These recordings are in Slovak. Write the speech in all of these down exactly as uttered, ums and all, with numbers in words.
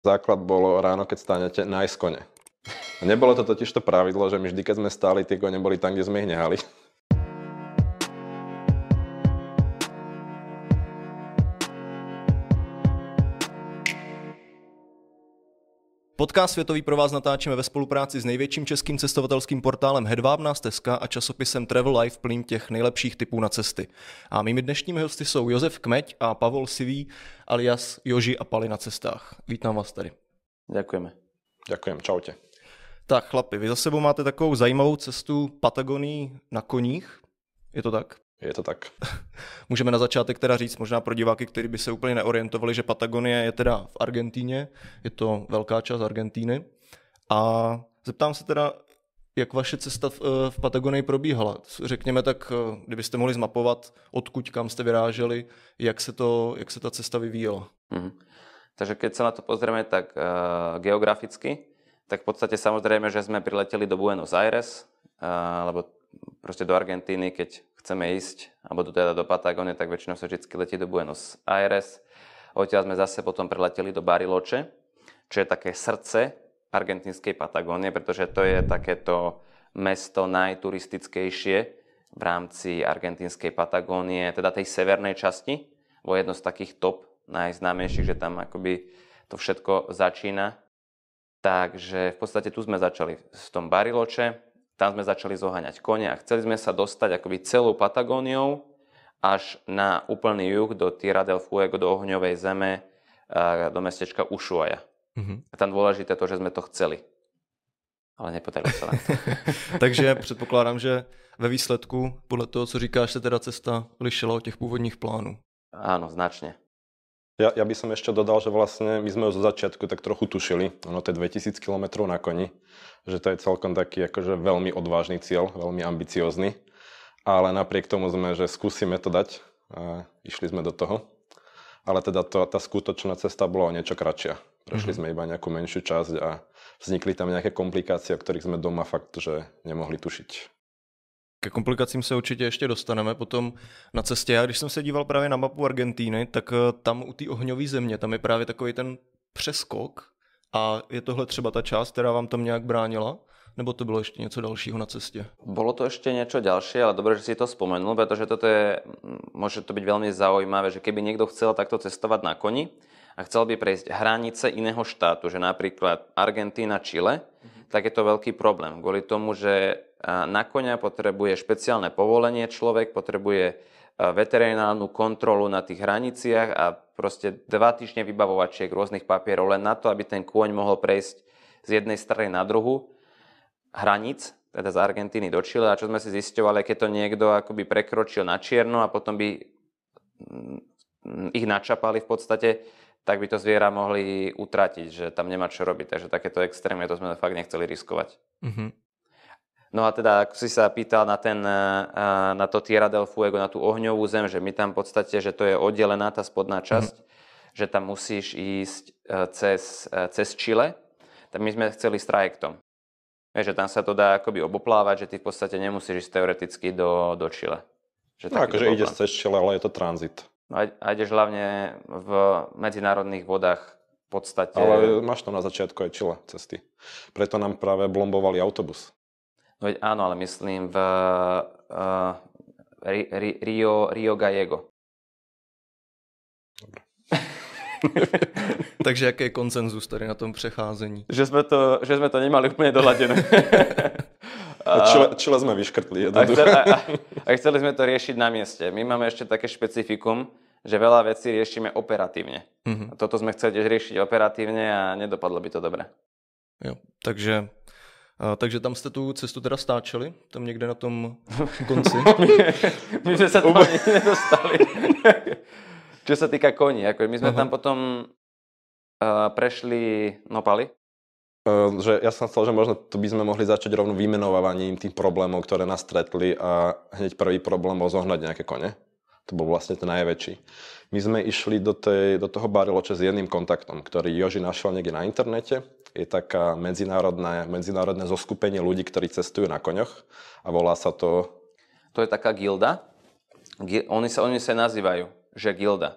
Základ bolo ráno, keď stánete, nájsť kone. Nebolo to totiž to pravidlo, že my vždy, keď sme stáli, tie kone boli tam, kde sme ich nehali. Podcast Světový pro vás natáčíme ve spolupráci s největším českým cestovatelským portálem Hedvábná stezka a časopisem Travel Life plný těch nejlepších tipů na cesty. A mými dnešními hosty jsou Josef Kmeď a Pavol Sivý alias Joži a Pali na cestách. Vítám vás tady. Ďakujeme. Ďakujem, čaute. Tak chlapi, vy za sebou máte takovou zajímavou cestu Patagonii na koních, je to tak? Je to tak. Můžeme na začátek teda říct možná pro diváky, kteří by se úplně neorientovali, že Patagonie je teda v Argentíně, je to velká část Argentíny. A zeptám se teda, jak vaše cesta v, v Patagonii probíhala. Řekněme tak, kdybyste mohli zmapovat, odkud kam jste vyráželi, jak se, to, jak se ta cesta vyvíjela. Mhm. Takže keď sa na to pozrieme tak uh, geograficky, tak v podstate samozrejme, že sme prileteli do Buenos Aires, uh, alebo proste do Argentíny, keď chceme ísť, alebo do, teda do Patagónie, tak väčšinou sa vždy letí do Buenos Aires. Odtiaľ sme zase potom preleteli do Bariloche, čo je také srdce argentínskej Patagónie, pretože to je takéto mesto najturistickejšie v rámci argentínskej Patagónie, teda tej severnej časti, bo jedno z takých top najznámejších, že tam akoby to všetko začína. Takže v podstate tu sme začali v tom Bariloche, tam sme začali zoháňať kone a chceli sme sa dostať akoby celou Patagóniou až na úplný juh do Tierra del Fuego, do ohňovej zeme, do mestečka Ushuaia. Mm-hmm. A tam dôležité to, že sme to chceli. Ale nepodarilo sa nám to. Takže předpokládám, že ve výsledku, podle toho, co říkáš, se teda cesta lišila od těch původních plánů. Áno, značne. Ja, ja by som ešte dodal, že vlastne my sme už zo začiatku tak trochu tušili, ono to je dvetisíc kilometrov na koni, že to je celkom taký akože veľmi odvážny cieľ, veľmi ambiciózny, ale napriek tomu sme, že skúsime to dať a išli sme do toho. Ale teda to, tá skutočná cesta bola o niečo kratšia. Prešli mm-hmm. sme iba nejakú menšiu časť a vznikli tam nejaké komplikácie, o ktorých sme doma fakt, že nemohli tušiť. Ke komplikacím se určitě ještě dostaneme potom na cestě. Já když jsem se díval právě na mapu Argentíny, tak tam u té ohňové země, tam je právě takový ten přeskok a je tohle třeba ta část, která vám tam nějak bránila? Nebo to bylo ještě něco dalšího na cestě? Bolo to ešte niečo ďalšie, ale dobre, že si to spomenul, pretože toto je, môže to byť veľmi zaujímavé, že keby niekto chcel takto cestovať na koni a chcel by prejsť hranice iného štátu, že napríklad Argentína, Chile, mm-hmm. tak je to veľký problém. Kvôli tomu, že na koňa potrebuje špeciálne povolenie človek, potrebuje veterinárnu kontrolu na tých hraniciach a proste dva týždne vybavovačiek rôznych papierov len na to, aby ten kôň mohol prejsť z jednej strany na druhu hraníc, teda z Argentíny do Chile. A čo sme si zisťovali, keď to niekto akoby prekročil na čierno a potom by ich načapali v podstate, tak by to zviera mohli utratiť, že tam nemá čo robiť. Takže takéto extrémne to sme fakt nechceli riskovať. Mm-hmm. No a teda, ako si sa pýtal na, ten, na to Tierra del Fuego, na tú ohňovú zem, že my tam v podstate, že to je oddelená tá spodná časť, mm-hmm. že tam musíš ísť cez, cez Chile, tak my sme chceli s trajektom. Vieš, že tam sa to dá akoby oboplávať, že ty v podstate nemusíš ísť teoreticky do, do Chile. Že no akože ide cez Chile, ale je to tranzit. No a, a ideš hlavne v medzinárodných vodách v podstate. Ale máš tam na začiatku aj Chile cesty. Preto nám práve blombovali autobus. No veď áno, ale myslím v uh, Ri, Ri, Rio, Rio Gallego. Dobre. Takže jaký je konsenzus tady na tom přecházení? Že sme to, že sme to nemali úplne doľadené. Čile, Čile sme vyškrtli. A chceli, a, a chceli sme to riešiť na mieste. My máme ešte také špecifikum, že veľa vecí riešime operatívne. Mm-hmm. A toto sme chceli tiež riešiť operatívne a nedopadlo by to dobre. Jo, takže... A, takže tam jste tu cestu teda stáčeli? Tam někde na tom konci? My sme sa tam ani nedostali. Čo sa týka koní, ako my sme Aha. tam potom uh, prešli Nopali. Uh, že ja som chcel, že možno to by sme mohli začať rovno vymenovávaním tých problémov, ktoré nás stretli a hneď prvý problém bol zohnať nejaké kone. To bol vlastne ten najväčší. My sme išli do, tej, do toho Bariloche s jedným kontaktom, ktorý Joži našiel niekde na internete. Je taká medzinárodné, medzinárodné zoskupenie ľudí, ktorí cestujú na koňoch a volá sa to... To je taká gilda. Oni sa, oni sa nazývajú, že gilda.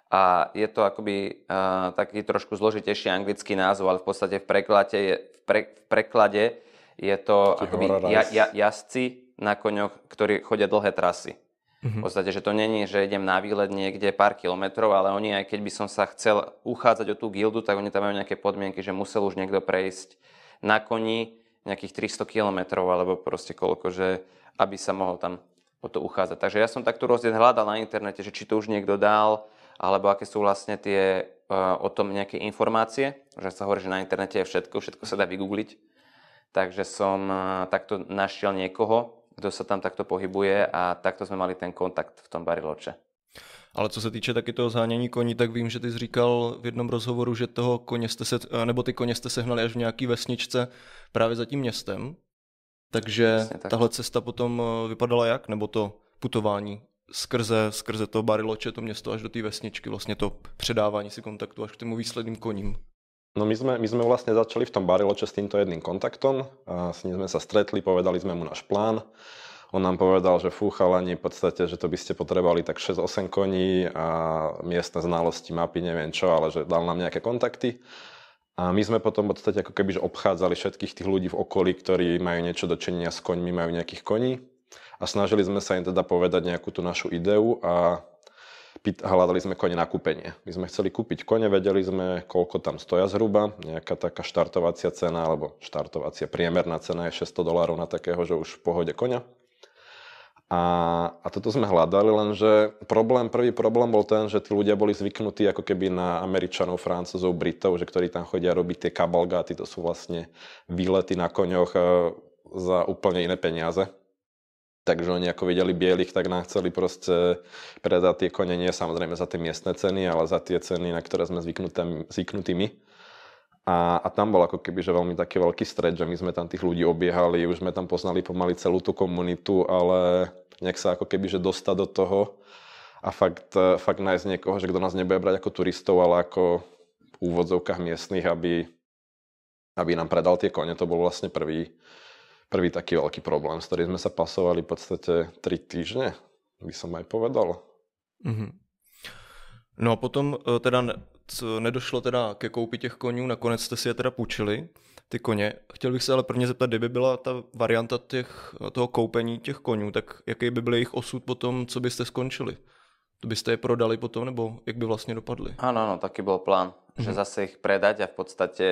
A je to akoby uh, taký trošku zložitejší anglický názov, ale v podstate v preklade je, v pre, v preklade je to akoby ja, ja, jazdci na koňoch, ktorí chodia dlhé trasy. Mm-hmm. V podstate, že to není, že idem na výlet niekde pár kilometrov, ale oni, aj keď by som sa chcel uchádzať o tú gildu, tak oni tam majú nejaké podmienky, že musel už niekto prejsť na koni nejakých tristo kilometrov, alebo proste koľko, že aby sa mohol tam o to uchádzať. Takže ja som takto rozdiel hľadal na internete, že či to už niekto dal, alebo aké sú vlastne tie uh, o tom nejaké informácie, že sa hovorí, že na internete je všetko, všetko sa dá vygoogliť. Takže som uh, takto našiel niekoho, kto sa tam takto pohybuje a takto sme mali ten kontakt v tom Bariloche. Ale co se týče taky toho zhánění koní, tak vím, že ty jsi říkal v jednom rozhovoru, že toho koně jste se, nebo ty koně jste sehnali až v nějaký vesničce právě za tím městem. Takže tak. Tahle cesta potom vypadala jak? Nebo to putování skrze, skrze to Bariloche, to město až do té vesničky, vlastně to předávání si kontaktu až k tomu výsledným koním? No my sme, my sme vlastne začali v tom Bariloche s týmto jedným kontaktom. A s ním sme sa stretli, povedali sme mu náš plán. On nám povedal, že fú, chalani, v podstate, že to by ste potrebovali tak šesť osem koní a miestne znalosti, mapy, neviem čo, ale že dal nám nejaké kontakty. A my sme potom v podstate ako keby že obchádzali všetkých tých ľudí v okolí, ktorí majú niečo dočinenia s koňmi, majú nejakých koní. A snažili sme sa im teda povedať nejakú tú našu ideu a hľadali sme kone na kúpenie. My sme chceli kúpiť kone, vedeli sme, koľko tam stoja zhruba, nejaká taká štartovacia cena, alebo štartovacia priemerná cena je šesťsto dolárov na takého, že už v pohode koňa. A, a toto sme hľadali, lenže problém, prvý problém bol ten, že tí ľudia boli zvyknutí ako keby na Američanov, Francúzov, Britov, že ktorí tam chodia robiť tie kabalgáty, to sú vlastne výlety na koňoch za úplne iné peniaze. Takže oni ako videli bielých, tak nám chceli proste predať tie kone, nie samozrejme za tie miestne ceny, ale za tie ceny, na ktoré sme zvyknutí my. A, a tam bol ako keby že veľmi taký veľký stret, že my sme tam tých ľudí obiehali, už sme tam poznali pomaly celú tú komunitu, ale nejak sa ako keby že dostať do toho a fakt, fakt nájsť niekoho, že kto nás nebude brať ako turistov, ale ako v úvodzovkách miestnych, aby, aby nám predal tie kone. To bol vlastne prvý, prvý taký veľký problém, s ktorým sme sa pasovali v podstate tri týždne, by som aj povedal. Mm-hmm. No a potom teda nedošlo teda ke koupi těch konňů, nakonec jste si je teda půjčili, ty koně. Chtěl bych se ale prvně zeptat, kdyby byla ta varianta těch, toho koupení těch konňů, tak jaký by byl jejich osud potom, co byste skončili? To byste je prodali potom, nebo jak by vlastně dopadli? Áno, áno, taký bol plán, mm-hmm. že zase ich predať a v podstate,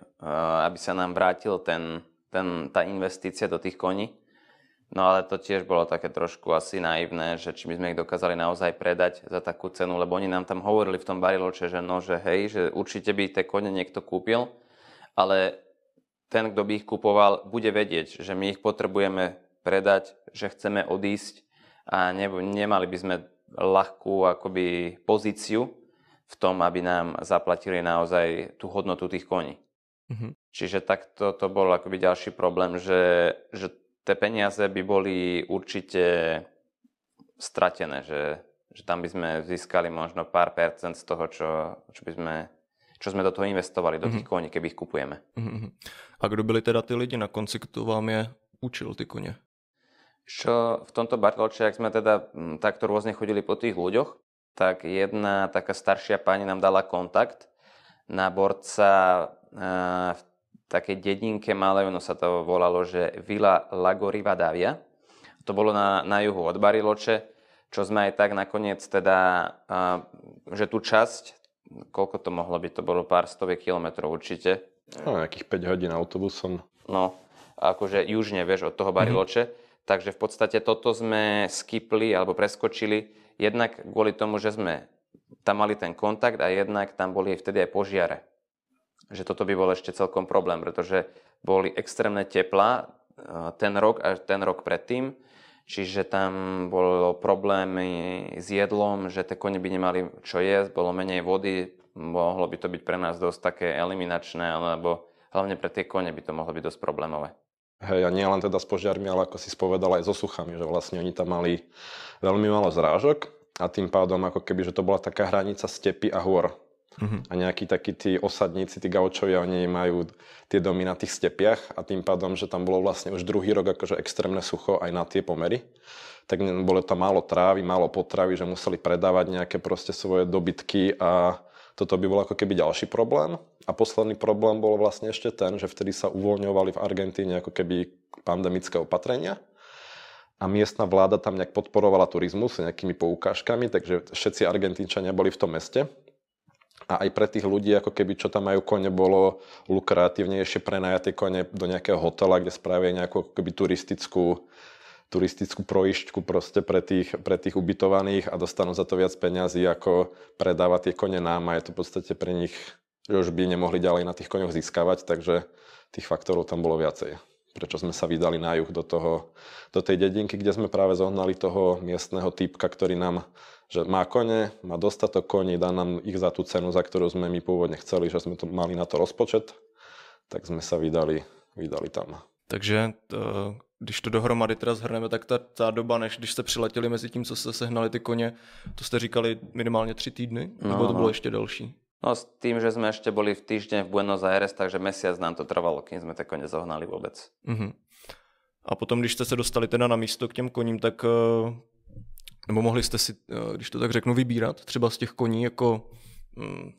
aby sa nám vrátil ten, ten, tá investícia do tých koní. No ale to tiež bolo také trošku asi naivné, že či by sme ich dokázali naozaj predať za takú cenu, lebo oni nám tam hovorili v tom Bariloche, že no, že hej, že určite by tie kone niekto kúpil, ale ten, kto by ich kupoval, bude vedieť, že my ich potrebujeme predať, že chceme odísť a ne, nemali by sme ľahkú akoby pozíciu v tom, aby nám zaplatili naozaj tú hodnotu tých koní. Mm-hmm. Čiže takto to bol akoby ďalší problém, že, že tie peniaze by boli určite stratené, že, že tam by sme získali možno pár percent z toho, čo, čo, by sme, čo sme do toho investovali, do tých mm-hmm. koní, keby ich kupujeme. Mm-hmm. A kdo byli teda ty lidi na konci, kto vám je učil ty koně? Čo v tomto Bariloche, ak sme teda m, takto rôzne chodili po tých ľuďoch, tak jedna taká staršia pani nám dala kontakt na borca e, v takej dedinke malej, ono sa to volalo, že Vila Lago Rivadavia. To bolo na, na juhu od Bariloche, čo sme aj tak nakoniec teda, uh, že tú časť, koľko to mohlo byť, to bolo pár stoviek kilometrov určite. No, nejakých päť hodín autobusom. No, akože južne, vieš, od toho Bariloche. Mm-hmm. Takže v podstate toto sme skipli alebo preskočili, jednak kvôli tomu, že sme tam mali ten kontakt a jednak tam boli vtedy aj požiare. Že toto by bol ešte celkom problém, pretože boli extrémne teplá ten rok a ten rok predtým, čiže tam bolo problémy s jedlom, že tie kone by nemali čo jesť, bolo menej vody, mohlo by to byť pre nás dosť také eliminačné, alebo hlavne pre tie kone by to mohlo byť dosť problémové. Hej, a nie len teda s požiarmi, ale ako si spovedal aj so suchami, že vlastne oni tam mali veľmi málo zrážok a tým pádom ako keby, že to bola taká hranica stepy a hôr. Uh-huh. A nejakí takí tí osadníci, tí gaučovia, oni majú tie domy na tých stepiach a tým pádom, že tam bolo vlastne už druhý rok akože extrémne sucho aj na tie pomery, tak bolo tam málo trávy, málo potravy, že museli predávať nejaké proste svoje dobytky a toto by bol ako keby ďalší problém. A posledný problém bol vlastne ešte ten, že vtedy sa uvoľňovali v Argentíne ako keby pandemické opatrenia a miestna vláda tam nejak podporovala turizmus nejakými poukážkami, takže všetci Argentínčania boli v tom meste. A aj pre tých ľudí, ako keby, čo tam majú kone, bolo lukratívnejšie prenajať tie kone do nejakého hotela, kde spravia nejakú keby turistickú, turistickú projišťku proste pre tých, pre tých ubytovaných a dostanú za to viac peňazí, ako predávať tie kone nám a je to v podstate pre nich, že už by nemohli ďalej na tých koňoch získavať, takže tých faktorov tam bolo viacej. Prečo sme sa vydali na juh do, toho, do tej dedinky, kde sme práve zohnali toho miestneho týpka, ktorý nám že má kone, má dostatok koní, dá nám ich za tú cenu, za ktorú sme my pôvodne chceli, že sme to mali na to rozpočet, tak sme sa vydali, vydali tam. Takže to, když to dohromady teda zhrneme, tak ta, ta doba, než když jste přiletěli mezi tím, co jste sehnali ty koně, to jste říkali minimálně tři týdny? No, nebo to bylo ještě delší? No s tým, že sme ešte boli v týždeň v Buenos Aires, takže mesiac nám to trvalo, kým sme tie kone zohnali vôbec. Uh-huh. A potom, když jste se dostali teda na místo k těm koním, tak nebo mohli jste si, když to tak řeknu, vybírat třeba z těch koní, jako mm,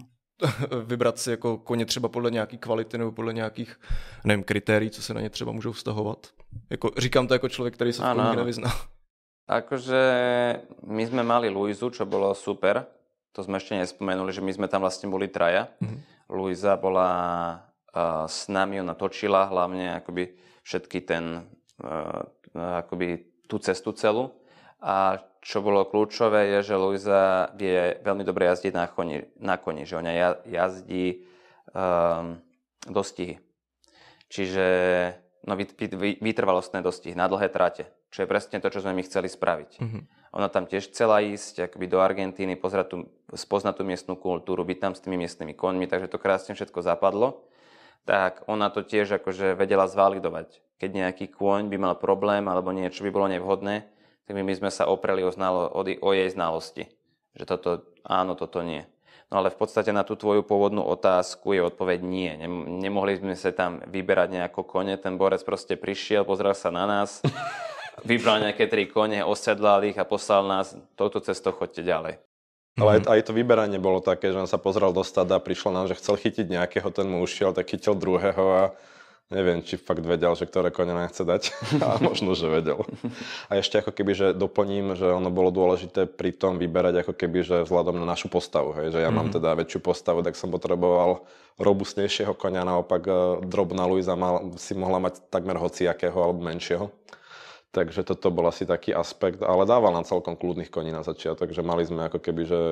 vybrat si jako koně třeba podle nějaký kvality nebo podle nějakých, nevím, kritérií, co se na ně třeba můžou vztahovat. Jako, říkám to jako člověk, který se v koních nevyzná. Akože my sme mali Luizu, čo bolo super. To sme ešte nespomenuli, že my sme tam vlastne boli traja. Mm-hmm. Luisa bola uh, s nami, ona točila hlavne akoby všetky ten, uh, akoby tú cestu celú. A čo bolo kľúčové je, že Luisa vie veľmi dobre jazdiť na koni, na koni že ona jazdí um, dostihy. Čiže no, vytrvalostné dostihy na dlhé trate, čo je presne to, čo sme my chceli spraviť. Mm-hmm. Ona tam tiež chcela ísť akoby do Argentíny, pozrieť tú, spoznať tú miestnú kultúru, byť tam s tými miestnymi koňmi, takže to krásne všetko zapadlo. Tak ona to tiež akože vedela zvalidovať. Keď nejaký kôň by mal problém alebo niečo by bolo nevhodné, tak my, my sme sa opreli o, znalo, o, o jej znalosti. Že toto áno, toto nie. No ale v podstate na tú tvoju pôvodnú otázku je odpoveď nie. Nemohli sme sa tam vyberať nejako kone, ten borec proste prišiel, pozrel sa na nás, vybral nejaké tri kone, osedlal ich a poslal nás touto cestou, choďte ďalej. Ale aj, aj to vyberanie bolo také, že on sa pozrel do stada, prišlo nám, že chcel chytiť nejakého, ten mu ušiel, tak chytil druhého a neviem, či fakt vedel, že ktoré kone nám chce dať. A možno, že vedel. A ešte ako keby, že doplním, že ono bolo dôležité pri tom vyberať ako keby, že vzhľadom na našu postavu. Hej, že ja mm-hmm. mám teda väčšiu postavu, tak som potreboval robustnejšieho konia, naopak drobná Luisa mal, si mohla mať takmer hociakého alebo menšieho. Takže toto bol asi taký aspekt, ale dával nám celkom kľudných koní na začiatok, že mali sme ako keby, že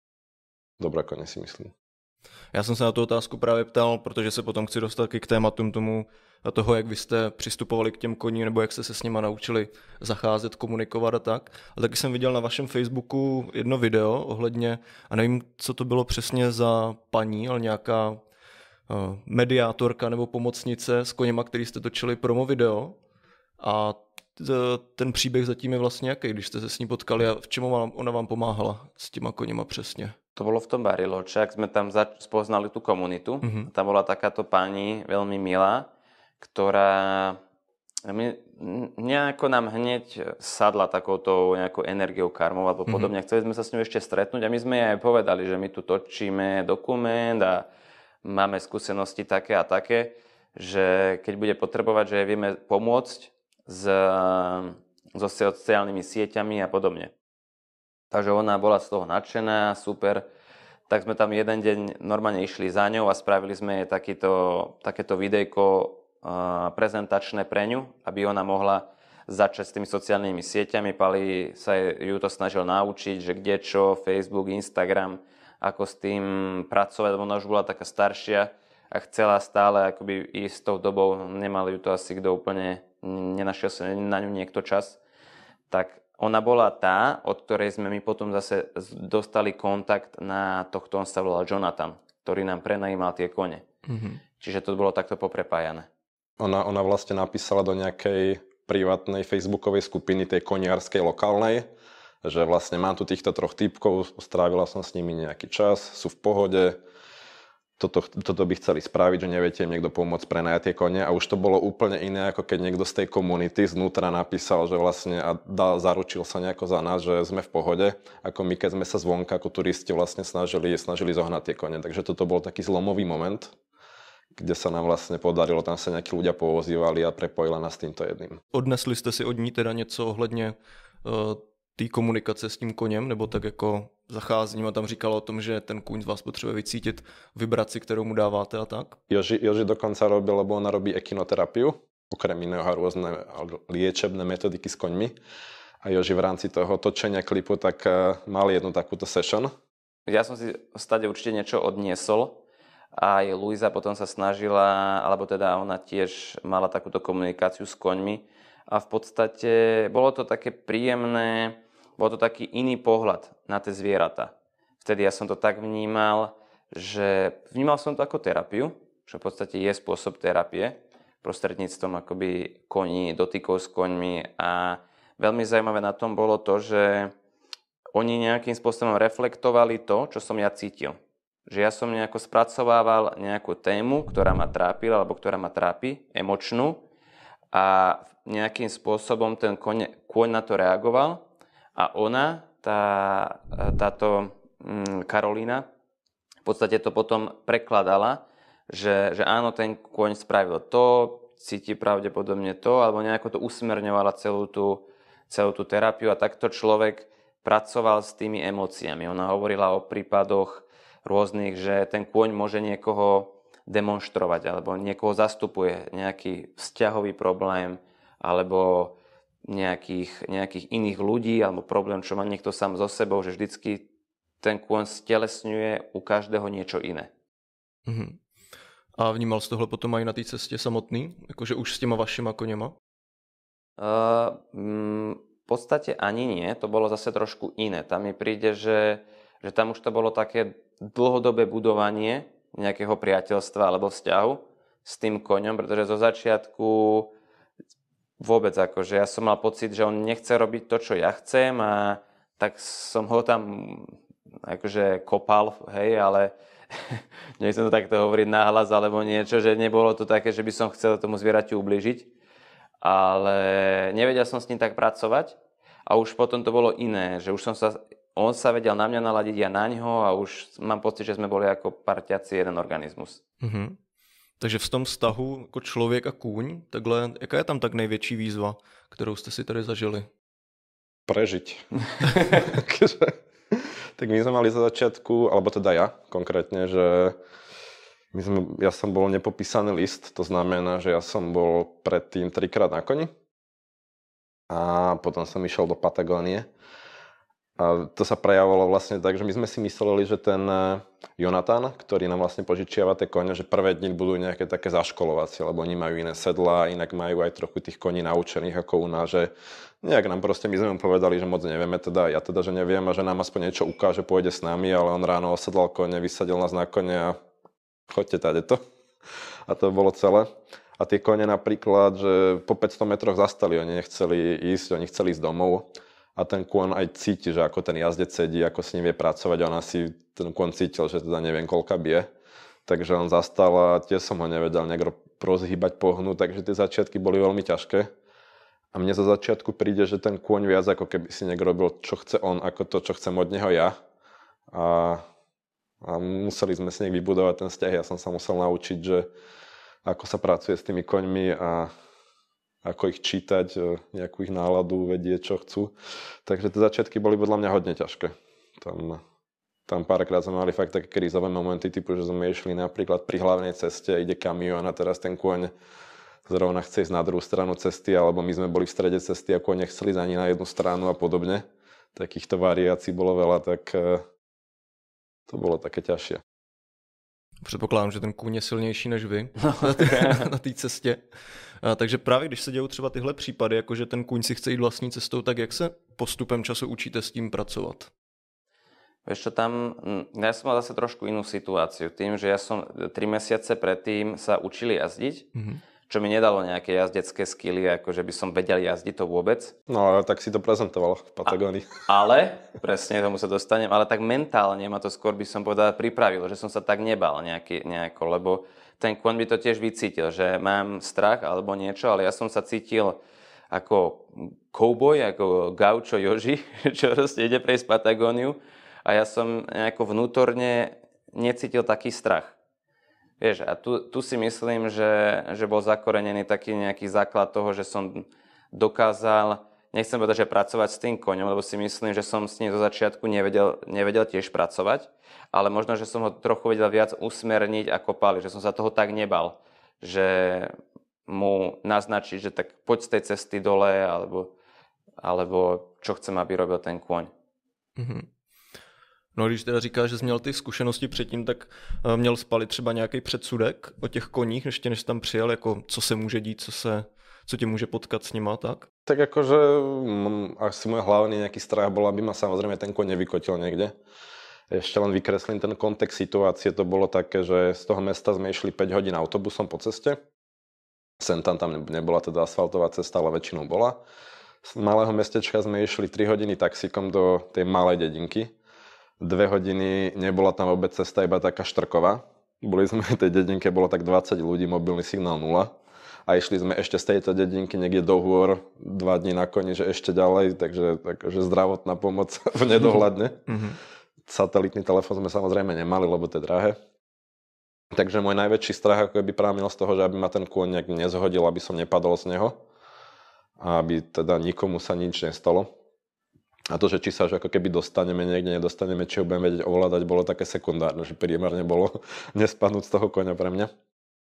dobré koně, si myslím. Já jsem se na tu otázku právě ptal, protože se potom chci dostat k tématům tomu, toho, jak vy jste přistupovali k těm koním, nebo jak jste se s nima naučili zacházet, komunikovat a tak. A taky jsem viděl na vašem Facebooku jedno video ohledně, a nevím, co to bylo přesně za paní, ale nějaká uh, mediátorka nebo pomocnice s koněma, který jste točili promo video. A ten příběh zatím je vlastně jaký, když jste se s ní potkali a v čemu ona vám pomáhala s těma koněma přesně? To bolo v tom Bariloche, ak sme tam zač- spoznali tú komunitu. Mm-hmm. Tam bola takáto pani veľmi milá, ktorá my, nejako nám hneď sadla takouto nejakou energiou karmou alebo podobne. Mm-hmm. Chceli sme sa s ňou ešte stretnúť a my sme jej aj povedali, že my tu točíme dokument a máme skúsenosti také a také, že keď bude potrebovať, že jej vieme pomôcť s, so sociálnymi sieťami a podobne. Takže ona bola z toho nadšená, super. Tak sme tam jeden deň normálne išli za ňou a spravili sme jej takýto, takéto videjko uh, prezentačné pre ňu, aby ona mohla začať s tými sociálnymi sieťami. Pali sa ju to snažil naučiť, že kde čo, Facebook, Instagram, ako s tým pracovať, lebo ona už bola taká staršia a chcela stále akoby ísť s tou dobou, nemali ju to asi kto úplne, nenašiel sa na ňu niekto čas. Tak ona bola tá, od ktorej sme my potom zase dostali kontakt na tohto, on sa volal Jonathan, ktorý nám prenajímal tie kone. Mm-hmm. Čiže to bolo takto poprepájané. Ona, ona vlastne napísala do nejakej privátnej facebookovej skupiny, tej koniarskej lokálnej, že vlastne mám tu týchto troch typkov, strávila som s nimi nejaký čas, sú v pohode, toto, toto by chceli spraviť, že neviete im niekto pomôcť prenajať tie kone a už to bolo úplne iné, ako keď niekto z tej komunity znútra napísal, že vlastne a dal, zaručil sa nejako za nás, že sme v pohode, ako my keď sme sa zvonka ako turisti vlastne snažili, snažili zohnať tie kone. Takže toto bol taký zlomový moment, kde sa nám vlastne podarilo, tam sa nejakí ľudia povozívali a prepojila nás týmto jedným. Odnesli jste si od ní teda něco ohledně uh, té komunikace s tím koněm, nebo tak jako zacházením a tam říkala o tom, že ten kůň z vás potřebuje vycítit vibraci, kterou mu dáváte a tak? Joži, Joži dokonca robil, lebo ona robí ekinoterapiu, okrem iného rôzne liečebné metodiky s koňmi. A Joži v rámci toho točenia klipu tak mal jednu takúto session. Ja som si stade určite niečo odniesol. Aj Luisa potom sa snažila, alebo teda ona tiež mala takúto komunikáciu s koňmi. A v podstate bolo to také príjemné, bol to taký iný pohľad na tie zvieratá. Vtedy ja som to tak vnímal, že vnímal som to ako terapiu, čo v podstate je spôsob terapie, prostredníctvom akoby koní, dotykov s koňmi. A veľmi zaujímavé na tom bolo to, že oni nejakým spôsobom reflektovali to, čo som ja cítil. Že ja som nejako spracovával nejakú tému, ktorá ma trápila, alebo ktorá ma trápi, emočnú, a nejakým spôsobom ten koň, kôň na to reagoval a ona, tá, táto mm, Karolína, v podstate to potom prekladala, že, že áno, ten kôň spravil to, cíti pravdepodobne to, alebo nejako to usmerňovala celú tú, celú tú terapiu a takto človek pracoval s tými emóciami. Ona hovorila o prípadoch rôznych, že ten kôň môže niekoho demonštrovať alebo niekoho zastupuje, nejaký vzťahový problém alebo nejakých, nejakých iných ľudí alebo problém, čo má niekto sám so sebou, že vždycky ten kôň stelesňuje u každého niečo iné. Mhm. A vnímal jsi tohle potom aj na té cestě samotný? Jakože už s těma vašima koněma? Uh, mm, v podstate ani nie, to bolo zase trošku iné. Tam mi príde, že, že tam už to bolo také dlhodobé budovanie nejakého priateľstva alebo vzťahu s tým koňom, pretože zo začiatku vôbec akože ja som mal pocit, že on nechce robiť to, čo ja chcem a tak som ho tam akože kopal, hej, ale nechcem to takto hovoriť nahlas alebo niečo, že nebolo to také, že by som chcel tomu zvieraťu ubližiť, ale nevedel som s ním tak pracovať a už potom to bolo iné, že už som sa on sa vedel na mňa naladiť, ja na ňo a už mám pocit, že sme boli ako parťaci jeden organizmus. Mhm. Takže v tom vztahu jako člověk a kůň, takhle, jaká je tam tak největší výzva, kterou jste si tady zažili? Prežiť. Tak my sme mali za začiatku, alebo teda ja konkrétne, že my sme, ja som bol nepopísaný list, to znamená, že ja som bol predtým trikrát na koni a potom som išiel do Patagónie. A to sa prejavovalo vlastne tak, že my sme si mysleli, že ten Jonathan, ktorý nám vlastne požičiava tie kone, že prvé dni budú nejaké také zaškolovacie, lebo oni majú iné sedlá, inak majú aj trochu tých koní naučených ako u nás, že nejak nám proste, my sme mu povedali, že moc nevieme, teda ja teda, že neviem a že nám aspoň niečo ukáže, pôjde s nami, ale on ráno osedlal kone, vysadil nás na kone a choďte tadeto. A to bolo celé. A tie kone napríklad, že po päťsto metroch zastali, oni nechceli ísť, oni chceli ísť domov. A ten kôň aj cíti, že ako ten jazdec sedí, ako s ním vie pracovať. On asi ten kôň cítil, že teda neviem, koľka bije. Takže on zastal a tiež som ho nevedel nejak rozhýbať, pohnúť, takže tie začiatky boli veľmi ťažké. A mne za začiatku príde, že ten kôň viac ako keby si niekto robil, čo chce on, ako to, čo chcem od neho ja. A, a museli sme si nejak vybudovať ten vzťah. Ja som sa musel naučiť, že ako sa pracuje s tými koňmi a ako ich čítať, nejakú ich náladu, vedieť, čo chcú. Takže tie začiatky boli podľa mňa hodne ťažké. Tam, tam párkrát sme mali fakt také krízové momenty, typu, že sme išli napríklad pri hlavnej ceste, ide kamión a teraz ten kôň zrovna chce ísť na druhú stranu cesty, alebo my sme boli v strede cesty a kôň nechceli ísť ani na jednu stranu a podobne. Takýchto variácií bolo veľa, tak to bolo také ťažšie. Předpokládám, že ten kůň je silnější než vy na té cestě. A, takže právě když se dějou třeba tyhle případy, jako že ten kůň si chce jít vlastní cestou, tak jak se postupem času učíte s tím pracovat? Vieš čo, tam, ja som mal zase trošku inú situáciu. Tým, že ja som tri mesiace predtým sa učili jazdiť, mm-hmm. čo mi nedalo nejaké jazdecké skily, ako že by som vedel jazdiť to vôbec. No ale tak si to prezentoval v Patagónii. Ale, presne tomu sa dostanem, ale tak mentálne ma to skôr by som povedal pripravilo, že som sa tak nebal nejaký, nejako, lebo ten kôň by to tiež vycítil, že mám strach alebo niečo, ale ja som sa cítil ako kouboj, ako gaučo Joži, čo proste ide prejsť Patagóniu a ja som nejako vnútorne necítil taký strach. Vieš, a tu, tu si myslím, že, že bol zakorenený taký nejaký základ toho, že som dokázal, nechcem povedať, že pracovať s tým koňom, lebo si myslím, že som s ním zo začiatku nevedel, nevedel tiež pracovať, ale možno, že som ho trochu vedel viac usmerniť ako Pali, že som sa toho tak nebal, že mu naznačiť, že tak poď z tej cesty dole, alebo, alebo čo chcem, aby robil ten kôň. Mm-hmm. No když teda říkáš, že jsi měl ty zkušenosti předtím, tak uh, měl Pali třeba nějaký předsudek o těch koních, ještě než jsi tam přijel, jako co se může dít, co, se, co tě může potkat s nima, tak? Tak akože m, asi môj hlavný nejaký strach bol, aby ma samozrejme ten koň nevykotil niekde. Ešte len vykreslím ten kontext situácie, to bolo také, že z toho mesta sme išli päť hodín autobusom po ceste. Sem tam tam nebola teda asfaltová cesta, ale väčšinou bola. Z malého mestečka sme išli tri hodiny taxíkom do tej malej dedinky. Dve hodiny nebola tam vôbec cesta, iba taká štrková. Boli sme v tej dedinke, bolo tak dvadsať ľudí, mobilný signál nula. A išli sme ešte z tejto dedinky niekde do hôr, dva dní na koni, že ešte ďalej, takže, takže zdravotná pomoc v nedohľadne. Mm-hmm. Satelitný telefón sme samozrejme nemali, lebo to je drahé. Takže môj najväčší strach ako by prámil z toho, že aby ma ten kôň nejak nezhodil, aby som nepadol z neho. A aby teda nikomu sa nič nestalo. A to, že či sa už ako keby dostaneme niekde, nedostaneme, či ho budeme vedieť ovládať, bolo také sekundárne, že primárne bolo nespadnúť z toho koňa pre mňa.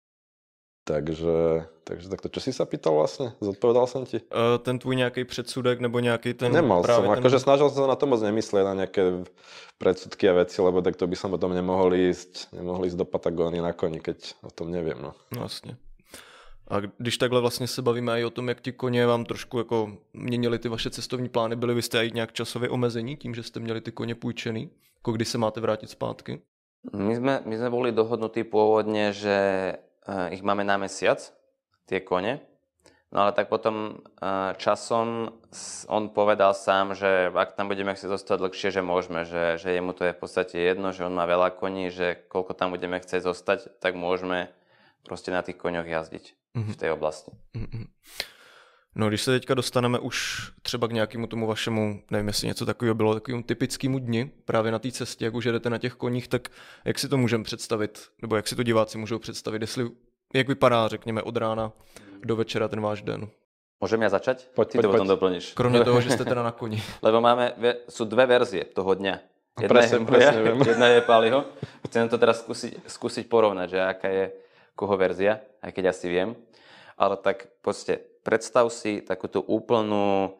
Takže, takže takto, čo si sa pýtal vlastne? Zodpovedal som ti? Uh, ten tvůj nějaký předsudek nebo nějaký ten... Nemal som, ten... akože snažil som sa na to moc nemyslieť, na nejaké predsudky a veci, lebo tak to by som potom nemohol ísť, nemohol ísť do Patagónie na koni, keď o tom neviem. No. Vlastně. A když takhle vlastně se bavíme i o tom, jak ti koně vám trošku jako měnili ty vaše cestovní plány, byli byste i nějak časově omezení tím, že jste měli ty koně půjčený? Jako kdy se máte vrátit zpátky? My sme, my sme boli dohodnutí pôvodne, že ich máme na mesiac, tie kone. No ale tak potom časom on povedal sám, že ak tam budeme chcieť zostať dlhšie, že môžeme, že, že jemu to je v podstate jedno, že on má veľa koní, že koľko tam budeme chcieť zostať, tak môžeme proste na tých koňoch jazdiť mm-hmm. v tej oblasti. Mm-hmm. No, když se teďka dostaneme už třeba k nějakému tomu vašemu, nevím, jestli něco takového bylo, takovému typickému dni, právě na té cestě, jak už jedete na těch koních, tak jak si to můžeme představit, nebo jak si to diváci můžou představit, jestli, jak vypadá, řekněme, od rána do večera ten váš den? Môžem ja začať? Poď, Ty poď, to potom poď. doplníš. Kromě toho, že jste teda na koni. Lebo máme, sú dve verzie toho dňa. Jedna presne, je moja, presne viem. jedna je Paliho. Chcem to teraz skúsiť, skúsiť porovnať, že aká je koho verzia, aj keď asi viem. Ale tak poďte, predstav si takúto úplnú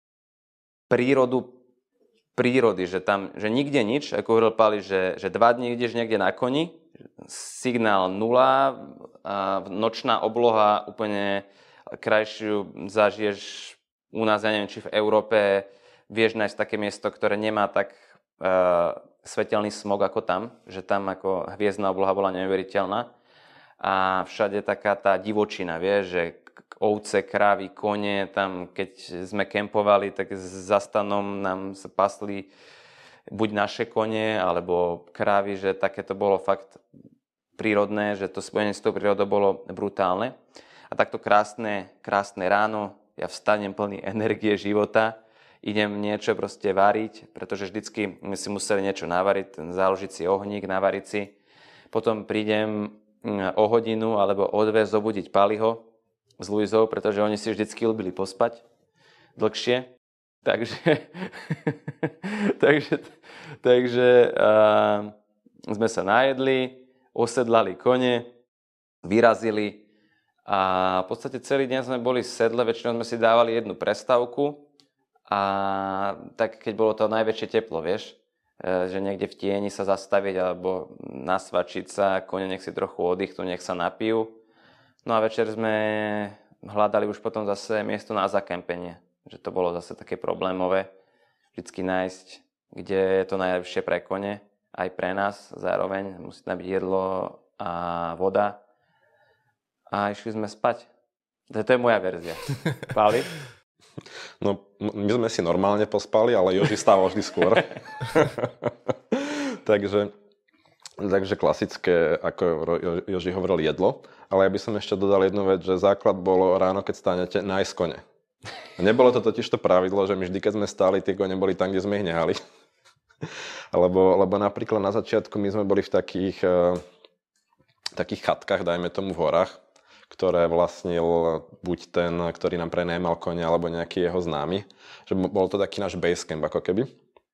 prírodu prírody, že tam, že nikde nič, ako hovoril Pali, že, že dva dní ideš niekde na koni, signál nula, a nočná obloha úplne krajšiu zažiješ u nás, ja neviem, či v Európe vieš nájsť také miesto, ktoré nemá tak uh, svetelný smog ako tam, že tam ako hviezdna obloha bola neuveriteľná a všade taká tá divočina, vieš, že ovce, krávy, kone, tam keď sme kempovali, tak za stanom nám sa pasli buď naše kone, alebo krávy, že také to bolo fakt prírodné, že to spojenie s tou prírodou bolo brutálne. A takto krásne, krásne ráno, ja vstanem plný energie života, idem niečo proste variť, pretože vždycky my si museli niečo navariť, založiť si ohník, navariť si. Potom prídem o hodinu alebo o dve zobudiť Paliho s Luizou, pretože oni si vždycky ľúbili pospať dlhšie. Takže, takže, takže uh, sme sa najedli, osedlali kone, vyrazili a v podstate celý deň sme boli v sedle, väčšinou sme si dávali jednu prestávku a tak keď bolo to najväčšie teplo, vieš, že niekde v tieni sa zastaviť alebo nasvačiť sa, kone nech si trochu oddychnú, nech sa napijú. No a večer sme hľadali už potom zase miesto na zakempenie, že to bolo zase také problémové vždycky nájsť, kde je to najlepšie pre kone, aj pre nás zároveň, musí tam byť jedlo a voda. A išli sme spať. To je moja verzia. Páli? No, my sme si normálne pospali, ale Joži stával vždy skôr. takže, takže klasické, ako Joži hovoril, jedlo. Ale ja by som ešte dodal jednu vec, že základ bolo ráno, keď stanete, nájsť kone. Nebolo to totiž to pravidlo, že my vždy, keď sme stáli, tie kone boli tam, kde sme ich nehali. lebo, lebo napríklad na začiatku my sme boli v takých, uh, takých chatkách, dajme tomu v horách, ktoré vlastnil buď ten, ktorý nám prenajímal kone, alebo nejaký jeho známy. Že bol to taký náš basecamp ako keby.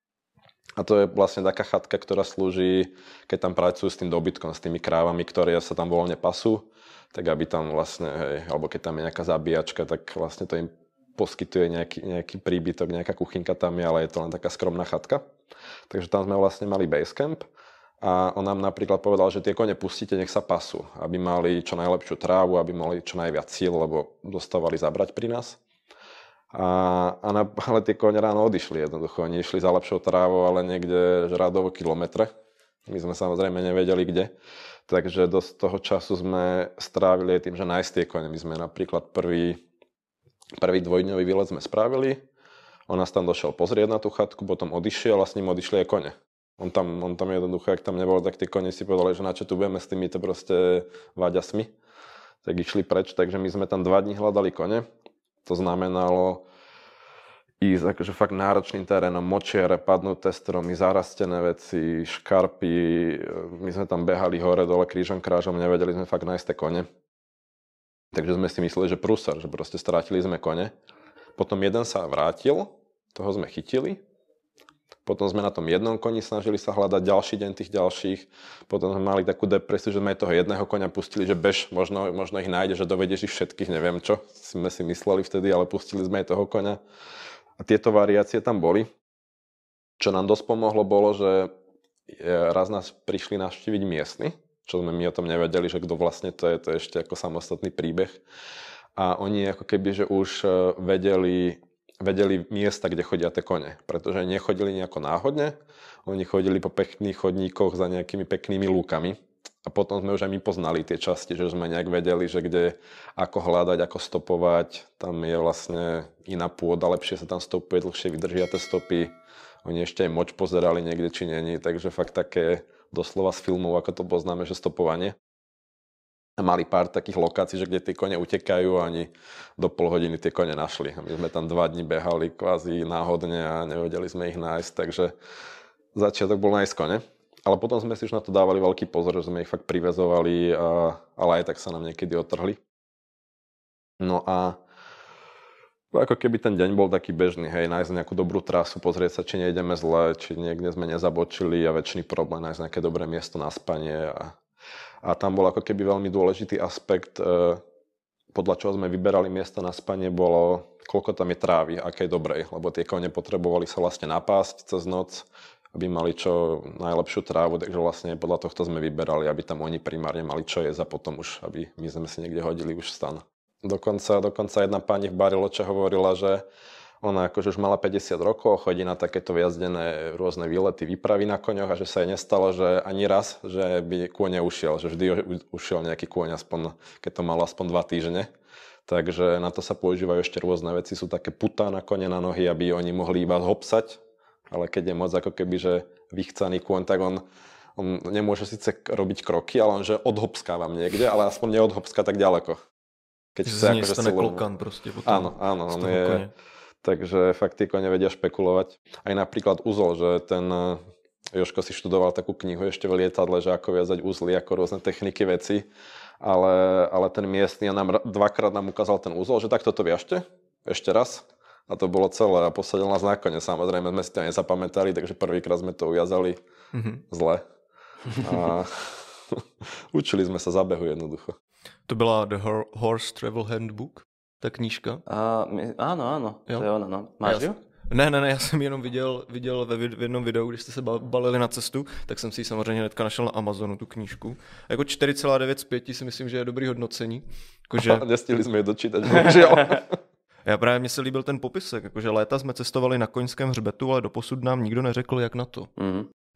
A to je vlastne taká chatka, ktorá slúži, keď tam pracujú s tým dobytkom, s tými krávami, ktoré sa tam voľne pasú, tak aby tam vlastne, hej, alebo keď tam je nejaká zabíjačka, tak vlastne to im poskytuje nejaký, nejaký príbytok, nejaká kuchynka tam je, ale je to len taká skromná chatka. Takže tam sme vlastne mali basecamp a on nám napríklad povedal, že tie kone pustíte, nech sa pasú, aby mali čo najlepšiu trávu, aby mali čo najviac síl, lebo dostávali zabrať pri nás. A, a na, ale tie kone ráno odišli jednoducho, oni išli za lepšou trávou, ale niekde žradovo kilometre. My sme samozrejme nevedeli kde. Takže do toho času sme strávili tým, že nájsť tie kone. My sme napríklad prvý Prvý dvojdňový výlet sme spravili, on nás tam došiel pozrieť na tú chatku, potom odišiel a s ním odišli aj kone. On tam, on tam jednoducho, ak tam nebol, tak tie kone si povedali, že na čo tu budeme s týmito proste váďasmi. Tak išli preč, takže my sme tam dva dní hľadali kone. To znamenalo ísť akože fakt náročným terénom, močiare, padnuté stromy, zarastené veci, škarpy. My sme tam behali hore, dole, krížom, krážom, nevedeli sme fakt nájsť tie kone. Takže sme si mysleli, že prúser, že proste strátili sme kone. Potom jeden sa vrátil, toho sme chytili. Potom sme na tom jednom koni snažili sa hľadať ďalší deň tých ďalších. Potom sme mali takú depresiu, že sme toho jedného koňa pustili, že bež, možno, možno ich nájde, že dovedieš ich všetkých, neviem čo. Sme si mysleli vtedy, ale pustili sme aj toho koňa. A tieto variácie tam boli. Čo nám dosť pomohlo bolo, že raz nás prišli navštíviť miestni, čo sme my o tom nevedeli, že kto vlastne to je, to je ešte ako samostatný príbeh. A oni ako keby, že už vedeli, vedeli miesta, kde chodia tie kone, pretože nechodili nejako náhodne, oni chodili po pekných chodníkoch za nejakými peknými lúkami a potom sme už aj my poznali tie časti, že sme nejak vedeli, že kde, ako hľadať, ako stopovať, tam je vlastne iná pôda, lepšie sa tam stopuje, dlhšie vydržia tie stopy, oni ešte aj moč pozerali niekde, či není, takže fakt také doslova z filmov, ako to poznáme, že stopovanie. A mali pár takých lokácií, že kde tie kone utekajú a ani do pol hodiny tie kone našli. A my sme tam dva dni behali kvázi náhodne a nevedeli sme ich nájsť, takže začiatok bol nájsť kone. Ale potom sme si už na to dávali veľký pozor, že sme ich fakt priväzovali, a, ale aj tak sa nám niekedy otrhli. No a ako keby ten deň bol taký bežný, hej, nájsť nejakú dobrú trasu, pozrieť sa, či nejdeme zle, či niekde sme nezabočili a väčšiný problém nájsť nejaké dobré miesto na spanie. A, a tam bol ako keby veľmi dôležitý aspekt, e, podľa čoho sme vyberali miesto na spanie, bolo, koľko tam je trávy, akej dobrej, lebo tie kone potrebovali sa vlastne napásť cez noc, aby mali čo najlepšiu trávu, takže vlastne podľa tohto sme vyberali, aby tam oni primárne mali čo jesť a potom už, aby my sme si niekde hodili už stan. Dokonca, dokonca jedna pani v Bariloche hovorila, že ona akože už mala päťdesiat rokov, chodí na takéto vyjazdené rôzne výlety, výpravy na koňoch a že sa jej nestalo, že ani raz, že by kôň neušiel, že vždy ušiel nejaký kôň, aspoň, keď to malo aspoň dva týždne. Takže na to sa používajú ešte rôzne veci, sú také putá na kone na nohy, aby oni mohli iba hopsať, ale keď je moc ako keby, že vychcaný kôň, tak on, on nemôže síce robiť kroky, ale on že odhopskávam niekde, ale aspoň neodhopská tak ďaleko. Keď chce akože silovú. Proste potom áno, áno, on je, kone. Takže fakt tí kone vedia špekulovať. Aj napríklad uzol, že ten Jožko si študoval takú knihu ešte v lietadle, že ako viazať uzly, ako rôzne techniky veci, ale, ale ten miestny nám dvakrát nám ukázal ten uzol, že tak toto viažte, ešte raz. A to bolo celé a posadil nás na kone. Samozrejme sme si to nezapamätali, takže prvýkrát sme to ujazali mm-hmm. zle. A učili sme sa zabehu jednoducho. To byla The Horse Travel Handbook, ta knížka? Uh, my, áno, áno, jo? To je ona, no. Máš ju? Ne, ne, ne, já jsem jenom viděl, viděl ve v jednom videu, když jste se balili na cestu, tak jsem si ji samozřejmě hnedka našel na Amazonu, tu knížku. A jako čtyři celá devět z pěti si myslím, že je dobrý hodnocení. Jakože... Nestihli jsme je dočítat, bohužel. Já právě mně se líbil ten popisek, jakože léta jsme cestovali na koňském hřbetu, ale doposud nám nikdo neřekl, jak na to. Mm.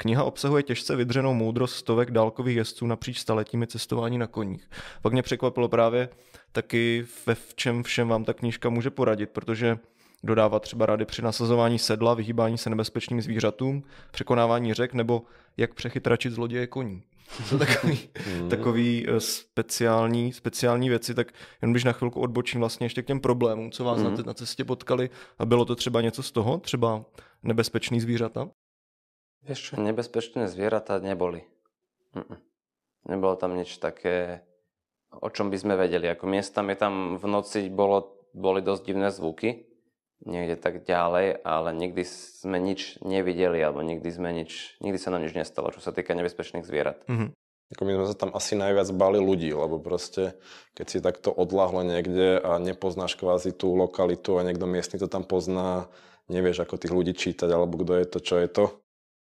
Kniha obsahuje těžce vydřenou moudrost stovek dálkových jezdců napříč staletími cestování na koních. Pak mě překvapilo právě taky, ve v čem všem vám ta knížka může poradit, protože dodává třeba rady při nasazování sedla, vyhýbání se nebezpečným zvířatům, překonávání řek nebo jak přechytračit zloděje koní. To jsou takový, takový speciální, speciální věci, tak jen když na chvilku odbočím vlastně ještě k těm problémům, co vás mm. na, na cestě potkali a bylo to třeba něco z toho, třeba nebezpečný zvířata? Vieš čo, nebezpečné zvieratá neboli. Mm-mm. Nebolo tam nič také, o čom by sme vedeli. Ako miestami tam v noci bolo, boli dosť divné zvuky, niekde tak ďalej, ale nikdy sme nič nevideli, alebo nikdy sme nič, nikdy sa nám nič nestalo, čo sa týka nebezpečných zvierat. Mm-hmm. Ako my sme sa tam asi najviac báli ľudí, lebo proste, keď si takto odľahlo niekde a nepoznáš kvázi tú lokalitu a niekto miestny to tam pozná, nevieš, ako tých ľudí čítať, alebo kto je to, čo je to.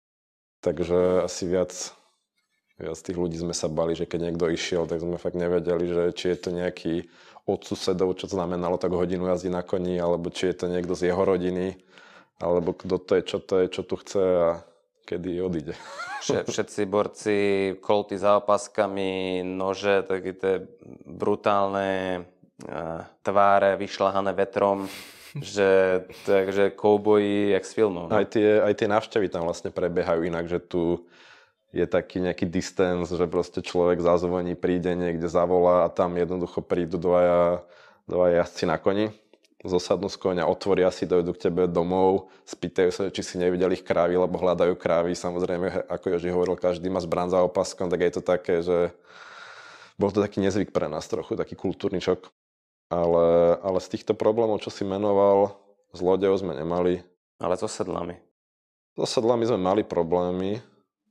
Takže asi viac, viac tých ľudí sme sa bali, že keď niekto išiel, tak sme fakt nevedeli, že či je to nejaký od susedov, čo to znamenalo tak hodinu jazdy na koni, alebo či je to niekto z jeho rodiny, alebo kto to je, čo to je, čo tu chce a kedy odíde. Všetci borci, kolty za opaskami, nože, také tie brutálne uh, tváre vyšľahané vetrom, že takže kouboji jak z filmov. Aj tie, aj tie návštevy tam vlastne prebiehajú inak, že tu je taký nejaký distance, že proste človek zazvoní, príde niekde, zavolá a tam jednoducho prídu dvaja, dvaja jazdci na koni, zosadnú z koňa, otvoria si, dojdu k tebe domov, spýtajú sa, či si nevideli ich krávy, lebo hľadajú krávy. Samozrejme, ako Joži hovoril, každý má zbraň za opaskom, tak je to také, že bol to taký nezvyk pre nás trochu, taký kultúrny šok. Ale, ale z týchto problémov, čo si menoval, zlodejov sme nemali. Ale so sedlami? So sedlami sme mali problémy,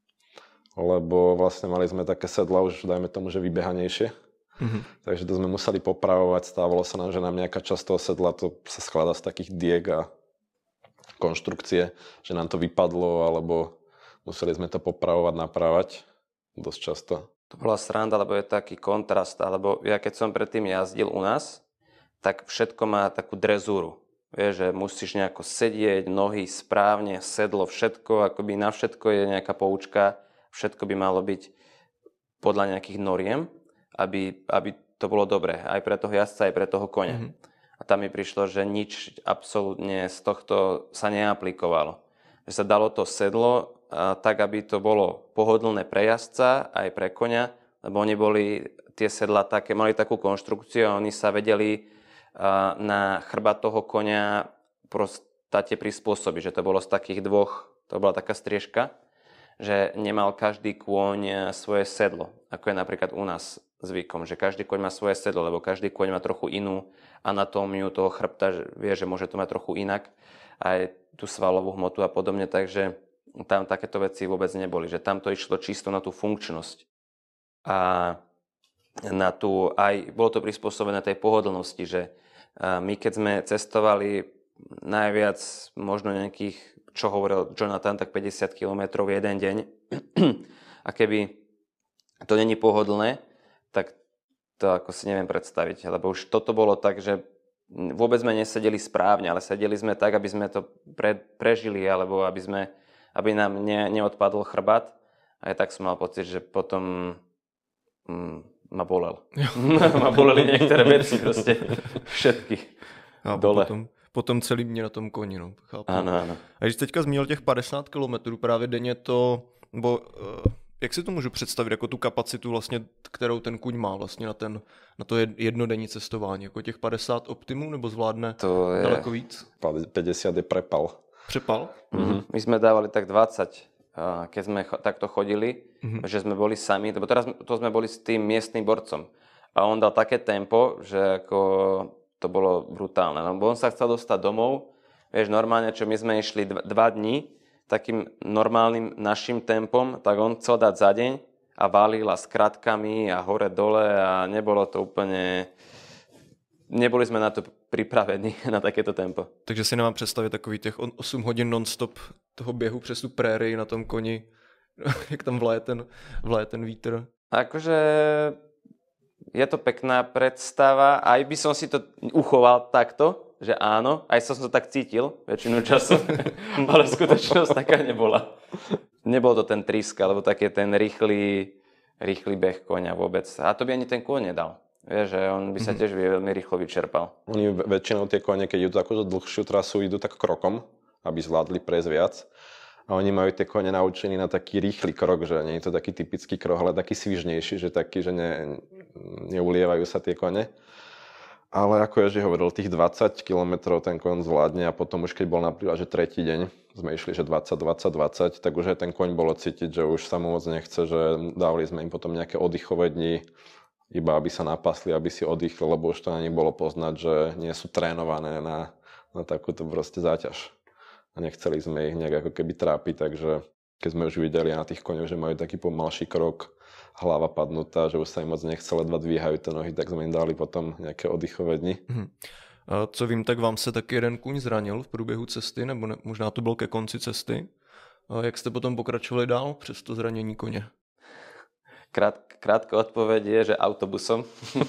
lebo vlastne mali sme také sedla už, dajme tomu, že vybehanejšie. Mm-hmm. Takže to sme museli popravovať, stávalo sa nám, že nám nejaká časť toho sedla, to sa skladá z takých diek a konštrukcie, že nám to vypadlo, alebo museli sme to popravovať, napravať dosť často. To bola sranda, lebo je taký kontrast, alebo ja keď som predtým jazdil u nás, tak všetko má takú drezúru. Vieš, že musíš nejako sedieť, nohy správne, sedlo, všetko, akoby na všetko je nejaká poučka, všetko by malo byť podľa nejakých noriem, aby, aby to bolo dobré, aj pre toho jazdca, aj pre toho koňa. Mm-hmm. A tam mi prišlo, že nič absolútne z tohto sa neaplikovalo. Že sa dalo to sedlo a, tak, aby to bolo pohodlné pre jazdca, aj pre koňa, lebo oni boli, tie sedla také, mali takú konštrukciu a oni sa vedeli a, na chrbát toho koňa prostate prispôsobiť, že to bolo z takých dvoch, to bola taká striežka, že nemal každý kôň svoje sedlo, ako je napríklad u nás zvykom, že každý kôň má svoje sedlo, lebo každý kôň má trochu inú anatómiu toho chrbta, že vie, že môže to mať trochu inak, aj tú svalovú hmotu a podobne, takže tam takéto veci vôbec neboli, že tam to išlo čisto na tú funkčnosť. A na tú, aj bolo to prispôsobené tej pohodlnosti, že my keď sme cestovali najviac možno nejakých, čo hovoril Jonathan, tak päťdesiat kilometrov jeden deň. A keby to není pohodlné, tak to ako si neviem predstaviť. Lebo už toto bolo tak, že vôbec sme nesedeli správne, ale sedeli sme tak, aby sme to pre, prežili, alebo aby, sme, aby nám ne, neodpadol chrbát. A ja tak som mal pocit, že potom mm, ma bolel. ma boleli niektoré veci, proste všetky a dole. Potom... Potom celý mě na tom koni, no, chápu. Ano, ano. A když teďka zmínil těch padesát kilometrů právě denně, to, bo, jak si to můžu představit, jako tu kapacitu vlastně, kterou ten kuň má vlastně na, ten, na to jednodenní cestování, jako těch padesát optimů, nebo zvládne to je... daleko víc? päťdesiat je prepal. Přepal? Mm-hmm. My sme dávali tak dvadsať, keď sme takto chodili, mm-hmm. že sme boli sami, lebo teraz to sme boli s tým miestnym borcom. A on dal také tempo, že ako... to bolo brutálne, lebo on sa chcel dostať domov, vieš, normálne, čo my sme išli dva, dva dní takým normálnym našim tempom, tak on chcel dať za deň a valil a s kratkami a hore dole a nebolo to úplne, neboli sme na to pripravení, na takéto tempo. Takže si nemám představit takový těch osm hodin non-stop toho běhu přes tu prérii na tom koni, jak tam vlaje ten, vlaje ten vítr. Akože... je to pekná predstava, aj by som si to uchoval takto, že áno, aj som to tak cítil väčšinu času, ale skutočnosť taká nebola. nebol to ten trísk, alebo taký ten rýchly, rýchly beh koňa vôbec. A to by ani ten kôň nedal. Vieš, že on by sa tiež veľmi rýchlo vyčerpal. Oni väčšinou tie kone, keď idú takúto dlhšiu trasu, idú tak krokom, aby zvládli prejsť viac. A oni majú tie kone naučení na taký rýchly krok, že nie je to taký typický krok, ale taký svižnejší, že taký, že ne, neulievajú sa tie kone. Ale ako Ježi hovoril, tých dvadsať kilometrov ten koň zvládne a potom už keď bol napríklad, že tretí deň, sme išli, že dvadsať, dvadsať, dvadsať, tak už aj ten koň bolo cítiť, že už sa mu moc nechce, že dávali sme im potom nejaké oddychové dni, iba aby sa napasli, aby si oddychli, lebo už to na nich bolo poznať, že nie sú trénované na, na takúto proste záťaž. A nechceli sme ich nejak ako keby trápiť, takže keď sme už videli na tých koňoch, že majú taký pomalší krok, hlava padnutá, že už sa im moc nechce, ledva dvíhajú tie nohy, tak sme im dali potom nejaké oddychové dni. Hmm. A co vím, tak vám se taky jeden kůň zranil v průběhu cesty, nebo ne, možná to bylo ke konci cesty. A jak jste potom pokračovali dál přes to zranění koně? Krát, krátka odpoveď je, že autobusom.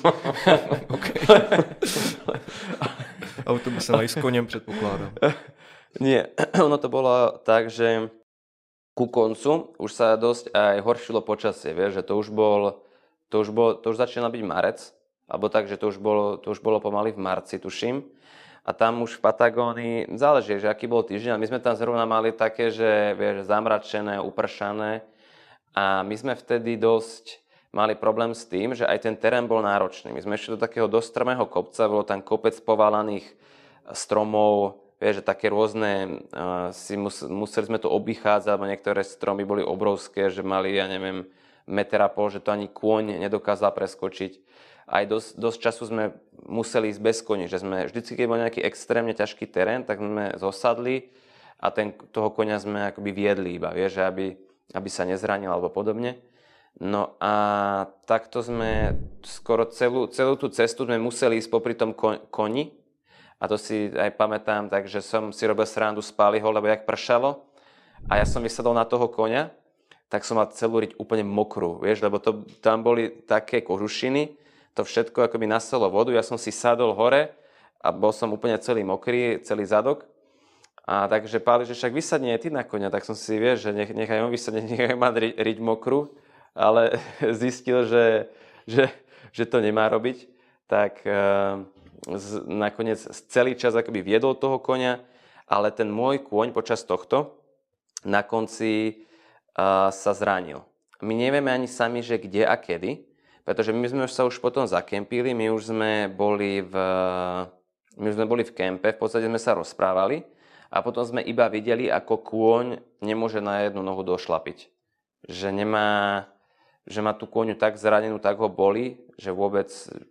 Autobusem aj s koněm předpokládám. Nie, ono to bolo tak, že ku koncu už sa dosť aj horšilo počasie, vieš, že to už bol, to už bol, to už začínal byť marec, alebo tak, že to už bolo, to už bolo pomaly v marci, tuším. A tam už v Patagónii, záleží, že aký bol týždeň, a my sme tam zrovna mali také, že vieš, zamračené, upršané, a my sme vtedy dosť mali problém s tým, že aj ten terén bol náročný. My sme išli do takého dosť strmého kopca, bolo tam kopec povalaných stromov, vieš, že také rôzne, uh, si mus, museli sme to obchádzať, alebo niektoré stromy boli obrovské, že mali, ja neviem, meter a pol, že to ani kôň nedokázal preskočiť. Aj dosť, dosť času sme museli ísť bez koní, že sme vždycky, keď bol nejaký extrémne ťažký terén, tak sme zosadli a ten, toho koňa sme akoby viedli iba, vieš, že aby, aby sa nezranil alebo podobne. No a takto sme skoro celú, celú tú cestu sme museli ísť popri tom koni. A to si aj pamätám, takže som si robil srandu z Páliho, lebo jak pršalo a ja som vysadol na toho koňa, tak som mal celú riť úplne mokrú, vieš, lebo to, tam boli také kožušiny, to všetko akoby naselo vodu, ja som si sadol hore a bol som úplne celý mokrý, celý zadok. A takže Páli, že však vysadne aj ty na koňa, tak som si, vieš, že nech, nechaj on vysadne, nechaj ma riť, riť mokrú, ale zistil, že, že, že to nemá robiť, tak... Uh, Z, nakoniec celý čas akoby viedol toho koňa, ale ten môj kôň počas tohto na konci uh, sa zranil. My nevieme ani sami, že kde a kedy, pretože my sme sa už potom zakempili, my už sme boli v, my už sme boli v kempe, v podstate sme sa rozprávali a potom sme iba videli, ako kôň nemôže na jednu nohu došlapiť. Že nemá, že má tú kôňu tak zranenú, tak ho boli, že vôbec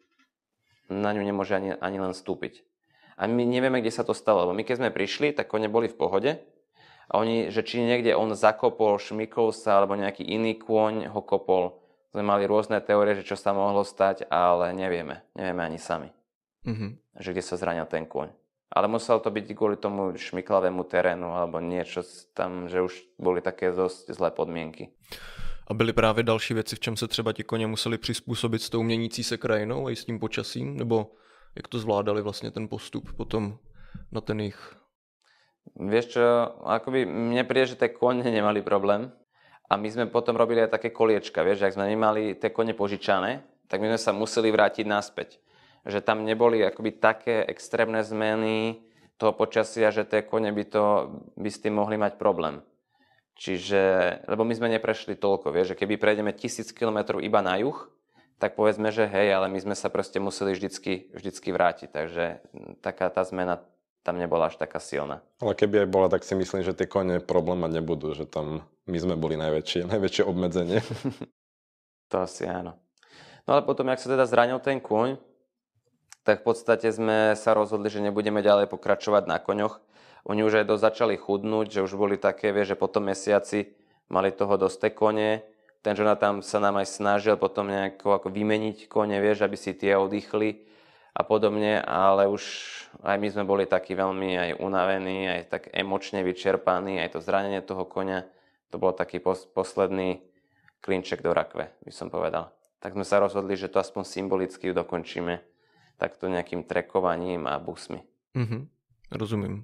na ňu nemôže ani, ani len vstúpiť. A my nevieme, kde sa to stalo, lebo my keď sme prišli, tak kone boli v pohode a oni, že či niekde on zakopol, šmykol sa, alebo nejaký iný kôň ho kopol. Sme mali rôzne teórie, že čo sa mohlo stať, ale nevieme. Nevieme ani sami, mm-hmm. že kde sa zranil ten kôň. Ale muselo to byť kvôli tomu šmyklavému terénu, alebo niečo tam, že už boli také dosť zlé podmienky. A byly právě další věci, v čem se třeba ti koně museli přizpůsobit s tou měnící se krajinou a i s tím počasím? Nebo jak to zvládali vlastně ten postup potom na ten jich? Vieš čo, akoby mne príde, že tie kone nemali problém. A my sme potom robili aj také koliečka, vieš, ak sme nemali tie kone požičané, tak my sme sa museli vrátiť naspäť. Že tam neboli akoby také extrémne zmeny toho počasia, že tie kone by, to, by s tým mohli mať problém. Čiže, lebo my sme neprešli toľko, vieš, že keby prejdeme tisíc kilometrov iba na juh, tak povedzme, že hej, ale my sme sa proste museli vždycky, vždycky vrátiť, takže taká tá zmena tam nebola až taká silná. Ale keby aj bola, tak si myslím, že tie kone problém mať nebudú, že tam my sme boli najväčšie, najväčšie obmedzenie. To asi áno. No ale potom, jak sa teda zranil ten kôň, tak v podstate sme sa rozhodli, že nebudeme ďalej pokračovať na koňoch. Oni už aj dosť začali chudnúť, že už boli také, vieš, že po tom mesiaci mali toho dosť tie kone. Ten Jonathan sa nám aj snažil potom nejako ako vymeniť kone, vieš, aby si tie oddychli a podobne, ale už aj my sme boli takí veľmi aj unavení, aj tak emočne vyčerpaní, aj to zranenie toho koňa, to bol taký pos- posledný klinček do rakve, by som povedal. Tak sme sa rozhodli, že to aspoň symbolicky dokončíme takto nejakým trekovaním a busmi. Mm-hmm, rozumím.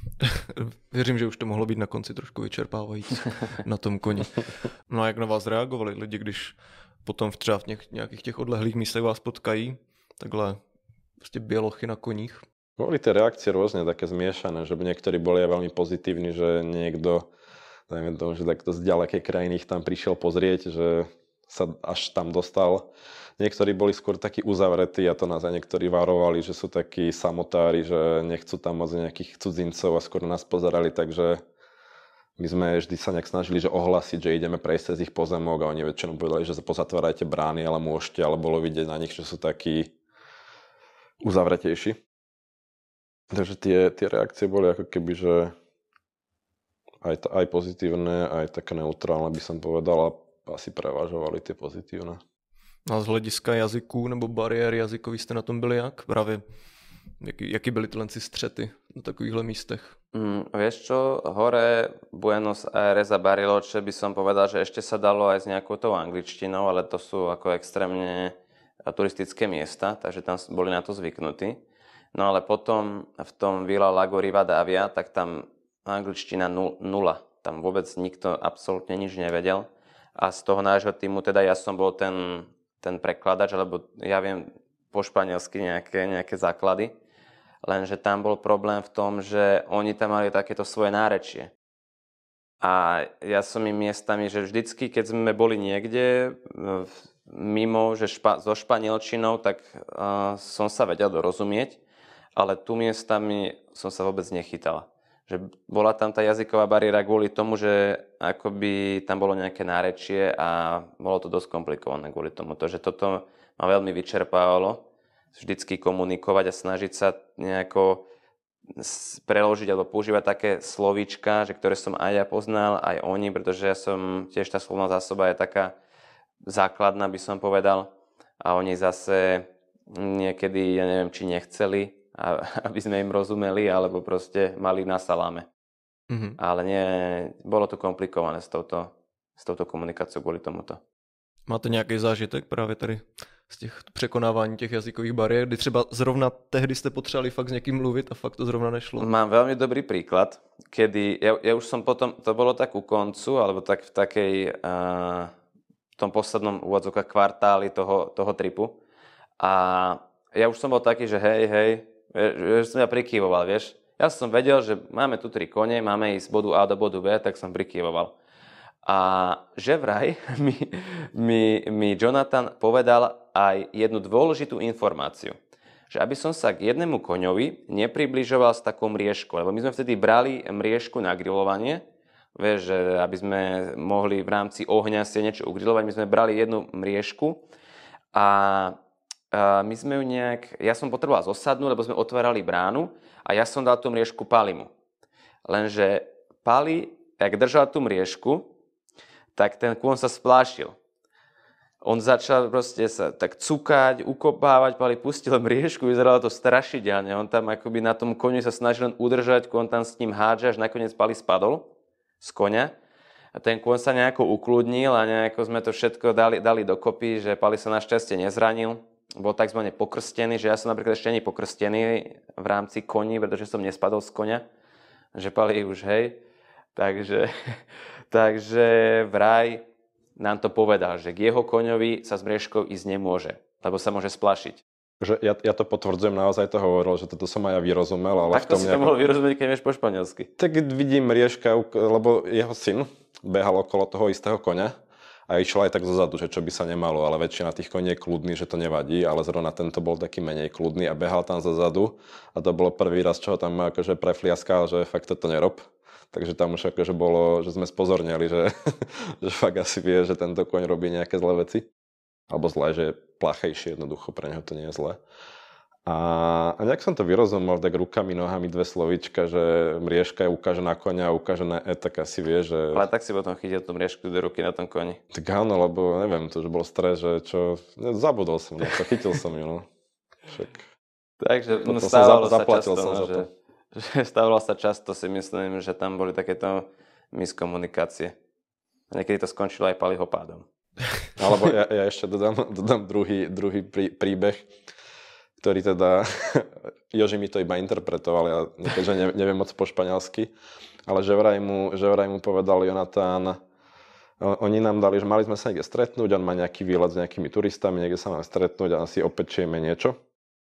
Věřím, že už to mohlo být na konci trošku vyčerpávající na tom koni. No a jak na vás reagovali lidi, když potom v třeba v něk, nějakých těch odlehlých místech vás potkají, takhle prostě bělochy na koních? Boli tie reakcie rôzne, také zmiešané, že niektorí boli aj veľmi pozitívni, že niekto, dajme tomu, že takto z ďalekej krajiny ich tam prišiel pozrieť, že sa až tam dostal. Niektorí boli skôr takí uzavretí a to nás aj niektorí varovali, že sú takí samotári, že nechcú tam moc nejakých cudzincov a skôr nás pozerali, takže my sme vždy sa nejak snažili, že ohlasiť, že ideme prejsť cez ich pozemok a oni väčšinou povedali, že pozatvárajte brány, ale môžete, ale bolo vidieť na nich, že sú takí uzavretejší. Takže tie, tie reakcie boli ako keby, že aj, aj pozitívne, aj také neutrálne by som povedal a asi prevažovali tie pozitívne. A z hlediska jazyků nebo bariér jazykový jste na tom byli jak? Právě jaký, jaký byly tyhle střety na takovýchhle místech? Mm, vieš čo, hore Buenos Aires a Bariloche by som povedal, že ešte sa dalo aj s nejakou tou angličtinou, ale to sú ako extrémne turistické miesta, takže tam boli na to zvyknutí. No ale potom v tom Vila Lago Rivadavia, tak tam angličtina nula. Tam vôbec nikto absolútne nič nevedel. A z toho nášho týmu, teda ja som bol ten, ten prekladač, lebo ja viem po španielsky nejaké, nejaké základy. Lenže tam bol problém v tom, že oni tam mali takéto svoje nárečie. A ja som im miestami, že vždycky, keď sme boli niekde mimo, že špa, so španielčinou, tak uh, som sa vedel dorozumieť. Ale tu miestami som sa vôbec nechytal. Že bola tam tá jazyková bariéra kvôli tomu, že akoby tam bolo nejaké nárečie a bolo to dosť komplikované kvôli tomu. To, že toto ma veľmi vyčerpávalo, vždycky komunikovať a snažiť sa nejako preložiť alebo používať také slovíčka, že ktoré som aj ja poznal, aj oni, pretože ja som tiež tá slovná zásoba je taká základná, by som povedal. A oni zase niekedy, ja neviem, či nechceli, aby sme im rozumeli, alebo proste mali na saláme. Mm-hmm. Ale nie, bolo to komplikované s touto, s touto komunikáciou kvôli tomuto. Máte nějaký zážitek právě tady z těch překonávání těch jazykových bariér, kdy třeba zrovna tehdy jste potřebovali fakt s někým mluvit a fakt to zrovna nešlo? Mám veľmi dobrý príklad, kedy ja, ja už som potom, to bolo tak u koncu, alebo tak v takej, uh, v tom poslednom úvodzovka kvartáli toho, toho tripu. A ja už som bol taký, že hej, hej, že som ja prikývoval, vieš. Ja som vedel, že máme tu tri kone, máme ísť z bodu A do bodu B, tak som prikývoval. A že vraj mi, mi, mi Jonathan povedal aj jednu dôležitú informáciu. Že aby som sa k jednému koňovi nepribližoval s takou mriežkou, lebo my sme vtedy brali mriežku na grilovanie, vieš, že aby sme mohli v rámci ohňa si niečo ugrilovať, my sme brali jednu mriežku a Uh, my sme ju nejak, ja som potreboval zosadnúť, lebo sme otvárali bránu a ja som dal tú mriežku Palimu. Lenže Pali, jak držal tú mriežku, tak ten kôň sa splášil. On začal proste sa tak cukať, ukopávať, Pali pustil mriežku, vyzeralo to strašidelne. On tam akoby na tom koni sa snažil len udržať, kôň tam s ním hádže, až nakoniec Pali spadol z koňa. A ten kôň sa nejako ukludnil a nejako sme to všetko dali, dali dokopy, že Pali sa našťastie nezranil. Bol takzvané pokrstený, že ja som napríklad ešte ani pokrstený v rámci koní, pretože som nespadol z koňa, že Pali už hej. Takže, takže vraj nám to povedal, že k jeho koňovi sa s mriežkou ísť nemôže, lebo sa môže splašiť. Že ja, ja to potvrdzujem, naozaj to hovoril, že toto som aj ja vyrozumel. Ale tak to si nejako... to mohol vyrozumieť, keď vieš po španielsky. Tak vidím mriežka, lebo jeho syn behal okolo toho istého koňa. A išiel aj tak zozadu, že čo by sa nemalo, ale väčšina tých koní je kľudný, že to nevadí, ale zrovna tento bol taký menej kľudný a behal tam zozadu a to bolo prvý raz, čo ho tam akože prefliaskal, že fakt toto nerob. Takže tam už akože bolo, že sme spozornili, že, že fakt asi vie, že tento koň robí nejaké zlé veci. Alebo zlé, že je plachejšie, jednoducho pre neho to nie je zlé. A, a nejak som to vyrozumel tak rukami, nohami, dve slovíčka, že mriežka je ukáže na koňa a ukáže na E, tak asi vie, že... Ale tak si potom chytil tú mriežku do ruky na tom koni. Tak áno, lebo neviem, to už bol stres, že čo... Zabudol som, no, to chytil som ju, no. Však... Takže no, stávalo sa často, som no, že, že stávalo sa často, si myslím, že tam boli takéto miskomunikácie. A niekedy to skončilo aj Paliho pádom. Alebo ja, ja ešte dodám, dodám druhý, druhý prí, príbeh. ktorý teda, Joži mi to iba interpretoval, ja keďže ne, neviem moc po španielsky, ale že vraj mu, že vraj mu povedal Jonatán, oni nám dali, že mali sme sa niekde stretnúť, on má nejaký výlet s nejakými turistami, niekde sa máme stretnúť a si opečieme niečo.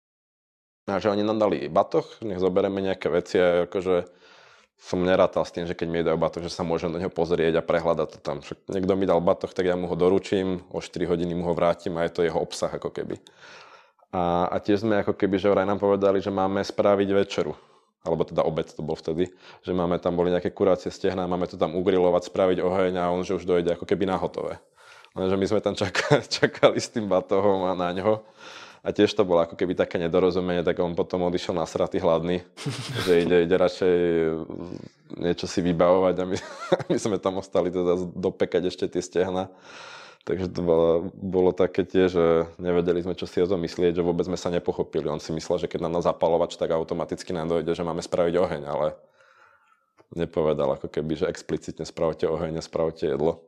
A že oni nám dali batoh, nech zoberieme nejaké veci a akože som nerátal s tým, že keď mi dajú batoh, že sa môžem do neho pozrieť a prehľadať to tam. Však niekto mi dal batoh, tak ja mu ho doručím, o štyri hodiny mu ho vrátim a je to jeho obsah ako keby. A, a tiež sme ako keby, že vraj nám povedali, že máme spraviť večeru. Alebo teda obed to bol vtedy, že máme tam boli nejaké kurácie stehná, máme to tam ugrilovať, spraviť oheň a on že už dojde ako keby na hotové. Lenže my sme tam čakali, čakali s tým batohom a na ňo. A tiež to bolo ako keby také nedorozumenie, tak on potom odišiel nasratý hladný, že ide, ide radšej niečo si vybavovať a my, my sme tam ostali teda dopekať ešte tie stehna. Takže to bolo, bolo také tiež, že nevedeli sme, čo si o tom myslieť, že vôbec sme sa nepochopili. On si myslel, že keď nám dá zapalovač, tak automaticky nám dojde, že máme spraviť oheň, ale nepovedal ako keby, že explicitne spravte oheň a spravte jedlo.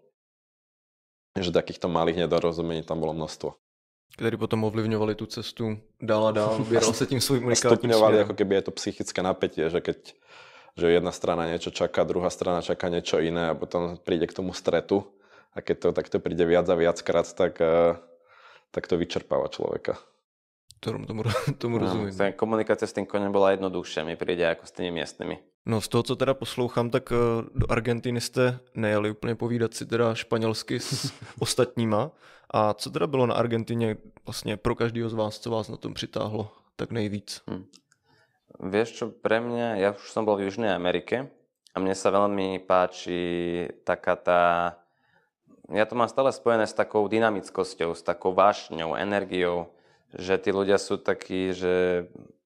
Že takýchto malých nedorozumení tam bolo množstvo. Ktorí potom ovlivňovali tú cestu dál a dál, ubieral sa tým svojím unikátnym stupňovali smerom. ako keby je to psychické napätie, že keď že jedna strana niečo čaká, druhá strana čaká niečo iné a potom príde k tomu stretu a keď to takto príde viac a viackrát, tak, tak to vyčerpáva človeka. Tomu, tomu, tomu no, rozumím. Komunikácia s tým koňom bola jednoduchšia, mi príde ako s tými miestnymi. No z toho, co teda poslouchám, tak do Argentiny jste nejeli úplně povídat si teda španělsky s ostatníma. A co teda bylo na Argentině vlastně pro každého z vás, co vás na tom přitáhlo tak nejvíc? Hm. Vieš čo, pre mňa, ja už som bol v Južnej Amerike a mne sa veľmi páči taká tá, ja to mám stále spojené s takou dynamickosťou, s takou vášňou, energiou, že tí ľudia sú takí, že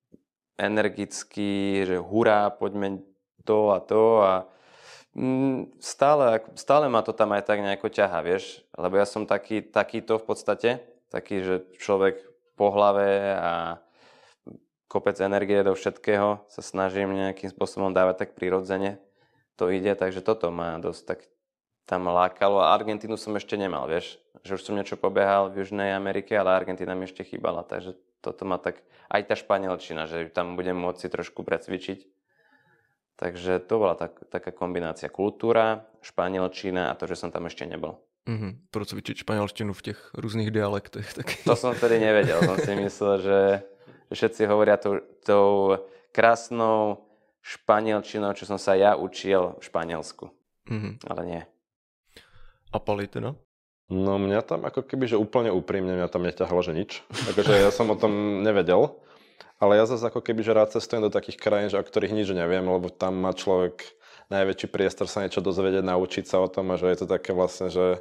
energickí, že hurá, poďme to a to a stále, stále ma to tam aj tak nejako ťahá, vieš, lebo ja som taký, takýto v podstate, taký, že človek po hlave a kopec energie do všetkého sa snažím nejakým spôsobom dávať tak prirodzene, to ide, takže toto ma dosť tak tam lákalo a Argentínu som ešte nemal, vieš, že už som niečo pobehal v Južnej Amerike, ale Argentína mi ešte chýbala, takže toto ma tak, aj tá španielčina, že tam budem môcť si trošku precvičiť. Takže to bola tak, taká kombinácia kultúra, španielčina a to, že som tam ešte nebol. Mm-hmm. Procvičiť španielštinu v těch různých dialektech. Taky. To som tedy nevedel, som si myslel, že, že všetci hovoria tou, tou krásnou španielčinou, čo som sa ja učil v Španielsku. Mm-hmm. Ale nie. A Pali teda? No mňa tam ako keby, že úplne úprimne mňa tam neťahalo, že nič. Takže ja som o tom nevedel. Ale ja zase ako keby, že rád cestujem do takých krajín, že o ktorých nič neviem, lebo tam má človek najväčší priestor sa niečo dozvedieť, naučiť sa o tom a že je to také vlastne, že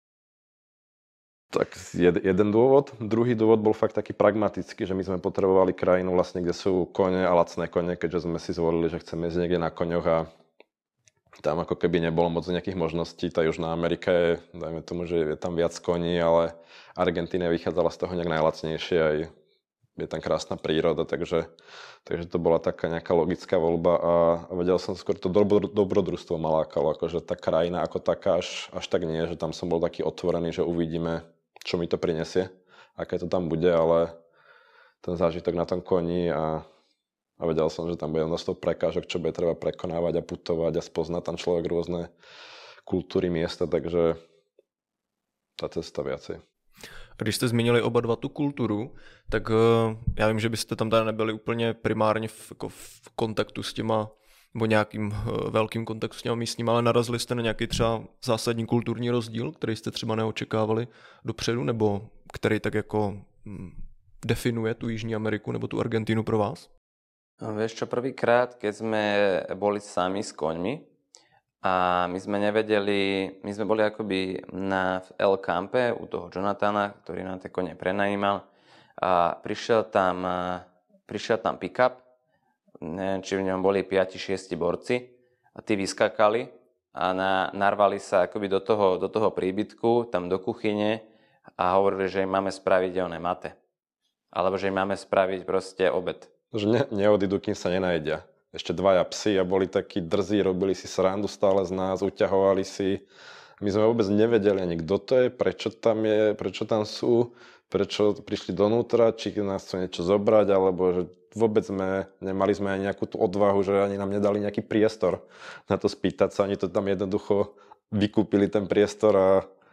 tak jed, jeden dôvod. Druhý dôvod bol fakt taký pragmatický, že my sme potrebovali krajinu vlastne, kde sú kone a lacné kone, keďže sme si zvolili, že chceme ísť niekde na koňoch a tam ako keby nebolo moc nejakých možností. Tá Južná Amerika je, dajme tomu, že je tam viac koní, ale Argentína vychádzala z toho nejak najlacnejšie aj je tam krásna príroda, takže, takže to bola taká nejaká logická voľba a, a vedel som skôr to dobro, dobrodružstvo ma lákalo, akože tá krajina ako taká až, až tak nie, že tam som bol taký otvorený, že uvidíme, čo mi to prinesie, aké to tam bude, ale ten zážitok na tom koni a, a vedel som, že tam bude množstvo prekážok, čo bude treba prekonávať a putovať a spoznať tam človek rôzne kultúry, miesta, takže tá cesta viacej. A když jste zmínili oba dva tu kulturu, tak já vím, že byste tam teda nebyli úplně primárně v, jako v kontaktu s těma, nebo nějakým velkým kontaktu s těma místníma, ale narazili jste na nějaký třeba zásadní kulturní rozdíl, který jste třeba neočekávali dopředu, nebo který tak jako definuje tu Jižní Ameriku nebo tu Argentínu pro vás? Vieš čo, prvýkrát, keď sme boli sami s koňmi, a my sme nevedeli, my sme boli akoby na El Campe u toho Jonathana, ktorý nám tie kone prenajímal a prišiel tam, prišiel tam pick-up, neviem, či v ňom boli päť šesť borci a tí vyskakali a na, narvali sa akoby do toho, do toho príbytku, tam do kuchyne a hovorili, že im máme spraviť oné mate. Alebo že im máme spraviť proste obed. Že ne, neodídu, kým sa nenajedia. Ešte dvaja psi a boli takí drzí, robili si srandu stále z nás, uťahovali si. My sme vôbec nevedeli ani kto to je, prečo tam je, prečo tam sú. prečo prišli donútra, či nás chcú niečo zobrať, alebo že vôbec sme, nemali sme aj nejakú tú odvahu, že ani nám nedali nejaký priestor na to spýtať sa, ani to tam jednoducho vykúpili ten priestor a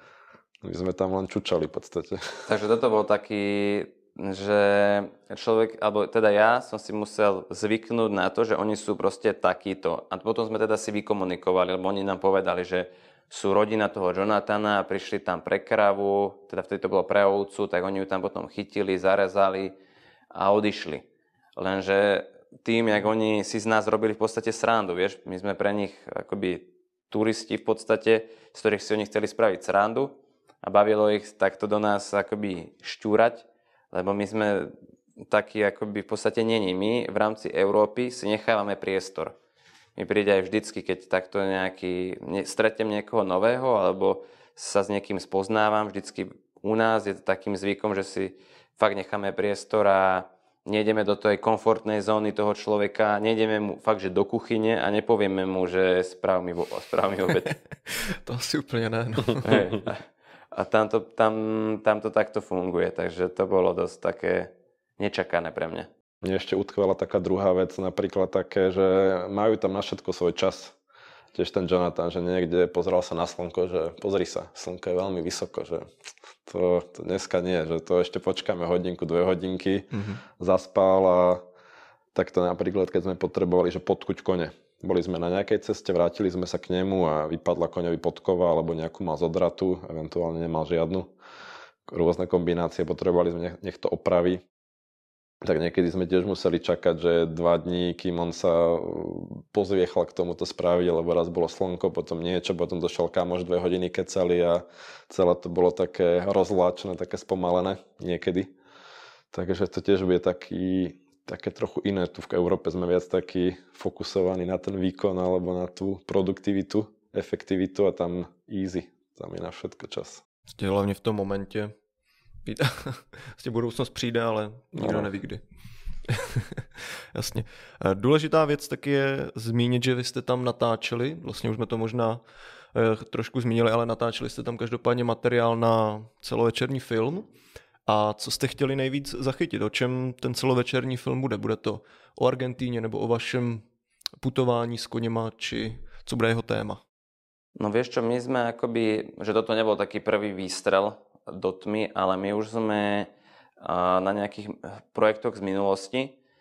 my sme tam len čučali v podstate. Takže toto bol taký, že človek, alebo teda ja som si musel zvyknúť na to, že oni sú proste takíto. A potom sme teda si vykomunikovali, lebo oni nám povedali, že sú rodina toho Jonathana a prišli tam pre kravu, teda vtedy to bolo pre ovcu, tak oni ju tam potom chytili, zarezali a odišli. Lenže tým, jak oni si z nás robili v podstate srandu, vieš, my sme pre nich akoby turisti v podstate, z ktorých si oni chceli spraviť srandu a bavilo ich takto do nás akoby šťúrať, lebo my sme takí akoby v podstate není. My v rámci Európy si nechávame priestor. Mi príde aj vždycky, keď takto nejaký, ne, stretnem niekoho nového alebo sa s niekým spoznávam, vždycky u nás je to takým zvykom, že si fakt necháme priestor a nejdeme do tej komfortnej zóny toho človeka, nejdeme mu fakt, že do kuchyne a nepovieme mu, že správ mi, správ mi obed. To asi úplně ne, no. Hey, a a tam, to, tam, tam to takto funguje, takže to bolo dosť také nečakané pre mňa. Mne ešte utkvala taká druhá vec, napríklad také, že majú tam na všetko svoj čas. Tiež ten Jonathan, že niekde pozeral sa na slnko, že pozri sa, slnko je veľmi vysoko, že to, to dneska nie, že to ešte počkáme hodinku, dve hodinky, mm-hmm. zaspal a takto napríklad, keď sme potrebovali, že podkuť kone. Boli sme na nejakej ceste, vrátili sme sa k nemu a vypadla koňovi podkova alebo nejakú mal zodratu, eventuálne nemal žiadnu. Rôzne kombinácie, potrebovali sme, nech, nech to opraví. Tak niekedy sme tiež museli čakať, že dva dní, kým on sa pozviechal k tomuto spraviť, lebo raz bolo slnko, potom niečo, potom došiel kamoš, dve hodiny kecali a celé to bolo také rozvláčne, také spomalené niekedy. Takže to tiež bude taký, také trochu iné. Tu v Európe sme viac takí fokusovaní na ten výkon alebo na tú produktivitu, efektivitu a tam easy, tam je na všetko čas. Ste hlavne v tom momente. Vlastně budoucnost přijde, ale nikdo no. neví kdy. Jasně. Důležitá věc taky je zmínit, že vy jste tam natáčeli, vlastně už jsme to možná eh, trošku zmínili, ale natáčeli jste tam každopádně materiál na celovečerní film. A co jste chtěli nejvíc zachytit? O čem ten celovečerní film bude? Bude to o Argentíně nebo o vašem putování s koněma, či co bude jeho téma? No vieš čo, my sme akoby, že toto nebol taký prvý výstrel do tmy, ale my už sme na nejakých projektoch z minulosti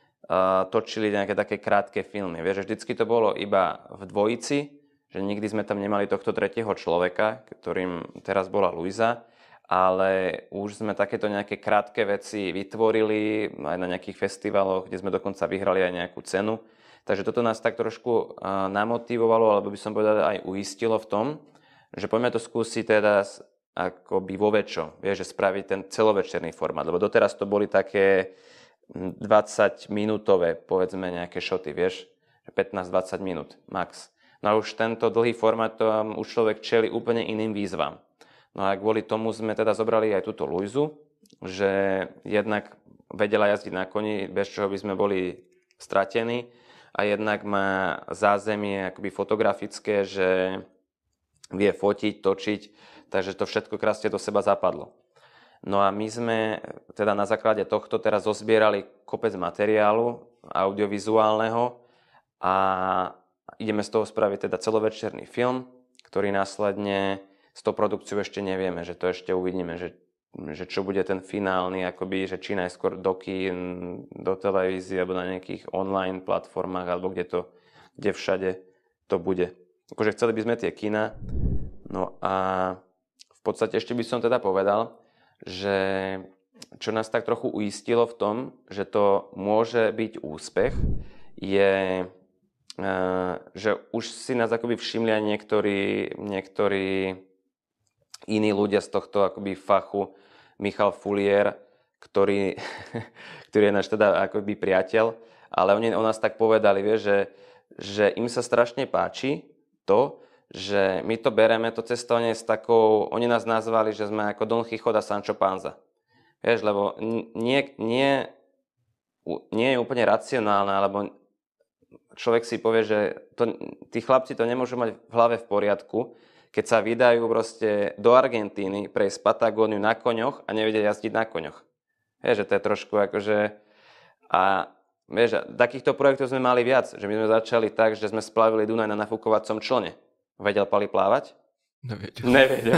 točili nejaké také krátke filmy. Vieš, že vždycky to bolo iba v dvojici, že nikdy sme tam nemali tohto tretieho človeka, ktorým teraz bola Luisa, ale už sme takéto nejaké krátke veci vytvorili aj na nejakých festivaloch, kde sme dokonca vyhrali aj nejakú cenu. Takže toto nás tak trošku namotivovalo, alebo by som povedal aj uistilo v tom, že poďme to skúsiť teda akoby vo väčšom, vieš, že spraviť ten celovečerný formát, lebo doteraz to boli také dvadsaťminútové, povedzme, nejaké šoty, vieš, pätnásť dvadsať minút max. No a už tento dlhý formát, to už človek čeli úplne iným výzvam. No a kvôli tomu sme teda zobrali aj túto Luizu, že jednak vedela jazdiť na koni, bez čoho by sme boli stratení, a jednak má zázemie akoby fotografické, že vie fotiť, točiť, takže to všetko krásne do seba zapadlo. No a my sme teda na základe tohto teraz zozbierali kopec materiálu audiovizuálneho a ideme z toho spraviť teda celovečerný film, ktorý následne s tou produkciou ešte nevieme, že to ešte uvidíme, že že čo bude ten finálny, akoby, že či najskôr do kín, do televízie, alebo na nejakých online platformách, alebo kde to, kde všade to bude. Akože chceli by sme tie kina. No a v podstate ešte by som teda povedal, že čo nás tak trochu uistilo v tom, že to môže byť úspech, je, že už si nás akoby všimli aj niektorí, niektorí iní ľudia z tohto akoby fachu, Michal Fulier, ktorý, ktorý je náš teda akoby priateľ, ale oni o nás tak povedali, vie, že, že im sa strašne páči to, že my to bereme, to cestovanie s takou, oni nás nazvali, že sme ako Don Quijote a Sancho Panza. Vieš, lebo nie, nie, nie je úplne racionálne, alebo človek si povie, že to, tí chlapci to nemôžu mať v hlave v poriadku, keď sa vydajú proste do Argentíny prejsť Patagóniu na koňoch a nevedia jazdiť na koňoch. Vieš, že to je trošku akože... A vieš, takýchto projektov sme mali viac, že my sme začali tak, že sme splavili Dunaj na nafúkovacom člne. Vedel Pali plávať? Nevedel. Nevedel.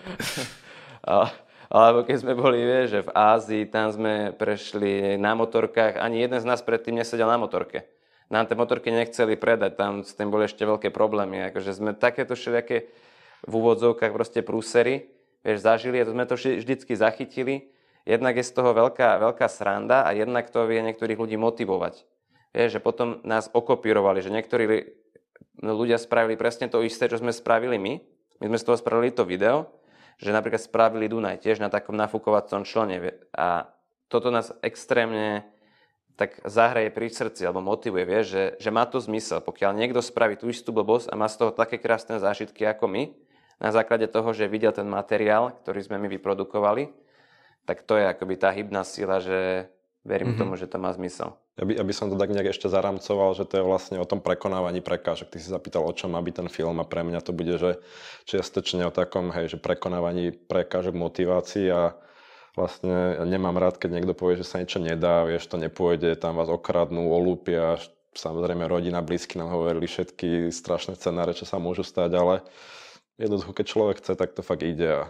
a, alebo keď sme boli, vieš, že v Ázii, tam sme prešli na motorkách, ani jeden z nás predtým nesedel na motorke. Nám tie motorky nechceli predať, tam s tým boli ešte veľké problémy. Akože sme takéto všelijaké v úvodzovkách proste prúsery, vieš, zažili a to sme to vždycky zachytili. Jednak je z toho veľká, veľká sranda a jednak to vie niektorých ľudí motivovať. Vieš, že potom nás okopírovali, že niektorí ľudia spravili presne to isté, čo sme spravili my. My sme z toho spravili to video, že napríklad spravili Dunaj tiež na takom nafúkovacom člne a toto nás extrémne tak zahraje pri srdci alebo motivuje, vieš, že, že má to zmysel. Pokiaľ niekto spraví tú istú blbosť a má z toho také krásne zážitky ako my, na základe toho, že videl ten materiál, ktorý sme my vyprodukovali, tak to je akoby tá hybná sila, že verím mm-hmm. tomu, že to má zmysel. Ja by, ja by som to tak nejak ešte zaramcoval, že to je vlastne o tom prekonávaní prekážok. Ty si zapýtal, o čom má byť ten film a pre mňa to bude, že čiastočne o takom, hej, že prekonávaní prekážok, motivácii a vlastne ja nemám rád, keď niekto povie, že sa niečo nedá, vieš, to nepôjde, tam vás okradnú, olúpia, samozrejme rodina, blízky nám hovorili všetky strašné scenáre, čo sa môžu stať, ale jednoducho, keď človek chce, tak to fakt ide a,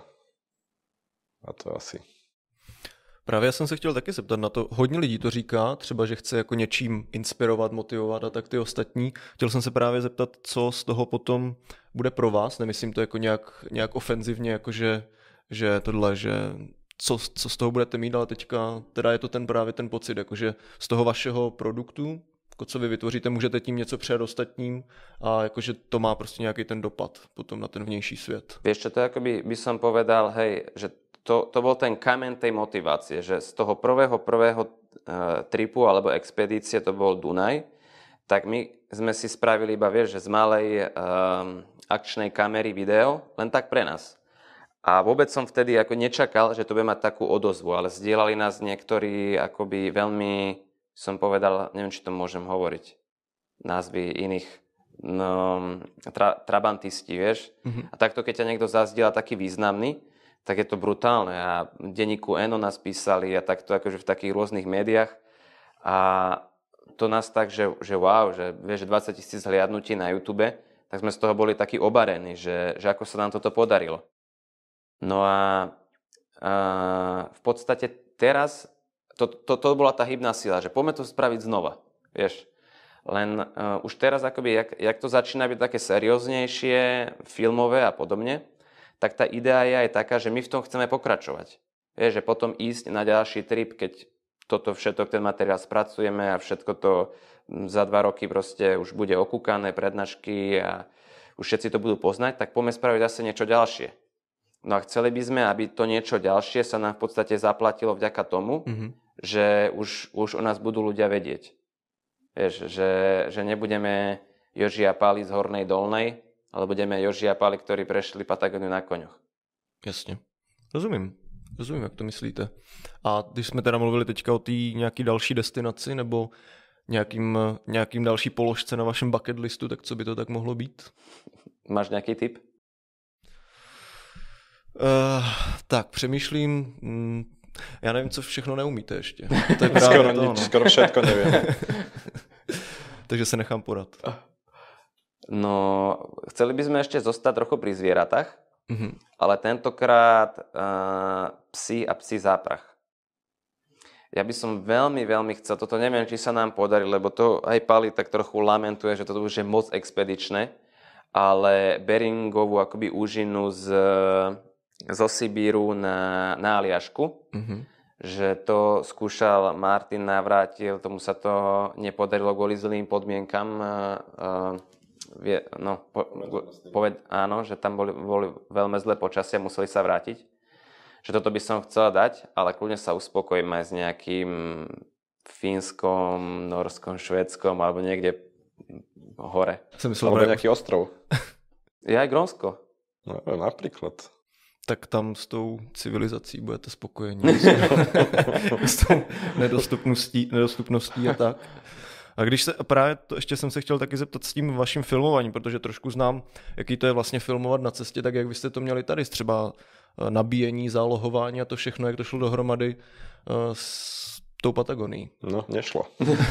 a to asi... Právě já jsem se chtěl taky zeptat na to, hodně lidí to říká, třeba, že chce jako něčím inspirovat, motivovat a tak ty ostatní. Chtěl jsem se právě zeptat, co z toho potom bude pro vás, nemyslím to jako nějak, nějak ofenzivně, jako že, že tohle, že co, co z toho budete mít, ale teďka teda je to ten právě ten pocit, jakože z toho vašeho produktu, jako co vy vytvoříte, můžete tím něco předat ostatním a jakože to má prostě nějaký ten dopad potom na ten vnější svět. Vieš čo, to akoby by som povedal, hej, že To, to bol ten kameň tej motivácie, že z toho prvého, prvého uh, tripu alebo expedície, to bol Dunaj, tak my sme si spravili iba, vieš, že z malej um, akčnej kamery video, len tak pre nás. A vôbec som vtedy ako nečakal, že to bude mať takú odozvu, ale zdieľali nás niektorí akoby veľmi, som povedal, neviem, či to môžem hovoriť, názvy iných no, tra, trabantisti, vieš. Mm-hmm. A takto, keď ťa niekto zazdieľa taký významný, tak je to brutálne. A v denníku Eno nás písali a takto akože v takých rôznych médiách. A to nás tak, že, že wow, že vieš, dvadsať tisíc hliadnutí na YouTube, tak sme z toho boli takí obarení, že, že ako sa nám toto podarilo. No a, a v podstate teraz, to, to, to bola tá hybná sila, že poďme to spraviť znova, vieš. Len uh, už teraz akoby, jak, jak to začína byť také serióznejšie, filmové a podobne, tak tá idea je aj taká, že my v tom chceme pokračovať. Vieš, že potom ísť na ďalší trip, keď toto všetko, ten materiál spracujeme a všetko to za dva roky proste už bude okúkané, prednášky a už všetci to budú poznať, tak poďme spraviť zase niečo ďalšie. No a chceli by sme, aby to niečo ďalšie sa nám v podstate zaplatilo vďaka tomu, mm-hmm. že už, už o nás budú ľudia vedieť. Vieš, že, že nebudeme Joži a Pali z Hornej Dolnej, ale budeme Joži a Pali, ktorí prešli Patagóniu na koňoch. Jasně. Rozumím. Rozumím, jak to myslíte. A když jsme teda mluvili teďka o té nějaký další destinaci nebo nějakým, nějakým další položce na vašem bucket listu, tak co by to tak mohlo být? Máš nějaký tip? Uh, tak, přemýšlím... Mm, já nevím, co všechno neumíte ještě. To je skoro, to, nič, no. skoro všetko nevím. Takže se nechám porad. No, chceli by sme ešte zostať trochu pri zvieratách, mm-hmm. ale tentokrát uh, psi a psi záprach. Ja by som veľmi, veľmi chcel, toto neviem, či sa nám podarí, lebo to aj Pali tak trochu lamentuje, že toto už je moc expedičné, ale Beringovú akoby úžinu z, zo Sibíru na, na Aliašku, mm-hmm. že to skúšal Martin Navrátil, tomu sa to nepodarilo kvôli zlým podmienkam, uh, Vie, no, po, poved, áno, že tam boli, boli veľmi zlé počasie, museli sa vrátiť. Že toto by som chcela dať, ale kľudne sa uspokojím aj s nejakým Fínskom, Norskom, Švédskom alebo niekde hore. Som myslel, alebo nejaký ostrov. Je aj Grónsko. No, napríklad. Tak tam s tou civilizací budete spokojení. S tou nedostupností, nedostupností a tak. A když se, právě to ještě jsem se chtěl taky zeptat s tím vaším filmováním, protože trošku znám, jaký to je vlastně filmovat na cestě, tak jak vy jste to měli tady, třeba nabíjení, zálohování a to všechno, jak to šlo dohromady s tou Patagonií. No, nešlo.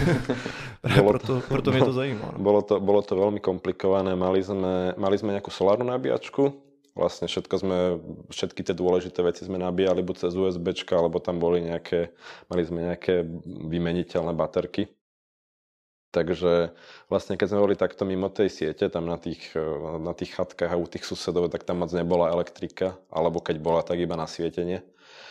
proto, proto mě to zajímá. No. Bolo to, bolo to veľmi komplikované, mali sme, mali sme nejakú solárnu nabíjačku, vlastne všetko sme, všetky tie dôležité veci sme nabíjali buď cez USBčka, alebo tam boli nejaké, mali sme nejaké vymeniteľné baterky. Takže vlastne keď sme boli takto mimo tej siete, tam na tých, na tých chatkách a u tých susedov, tak tam moc nebola elektrika, alebo keď bola, tak iba na svietenie.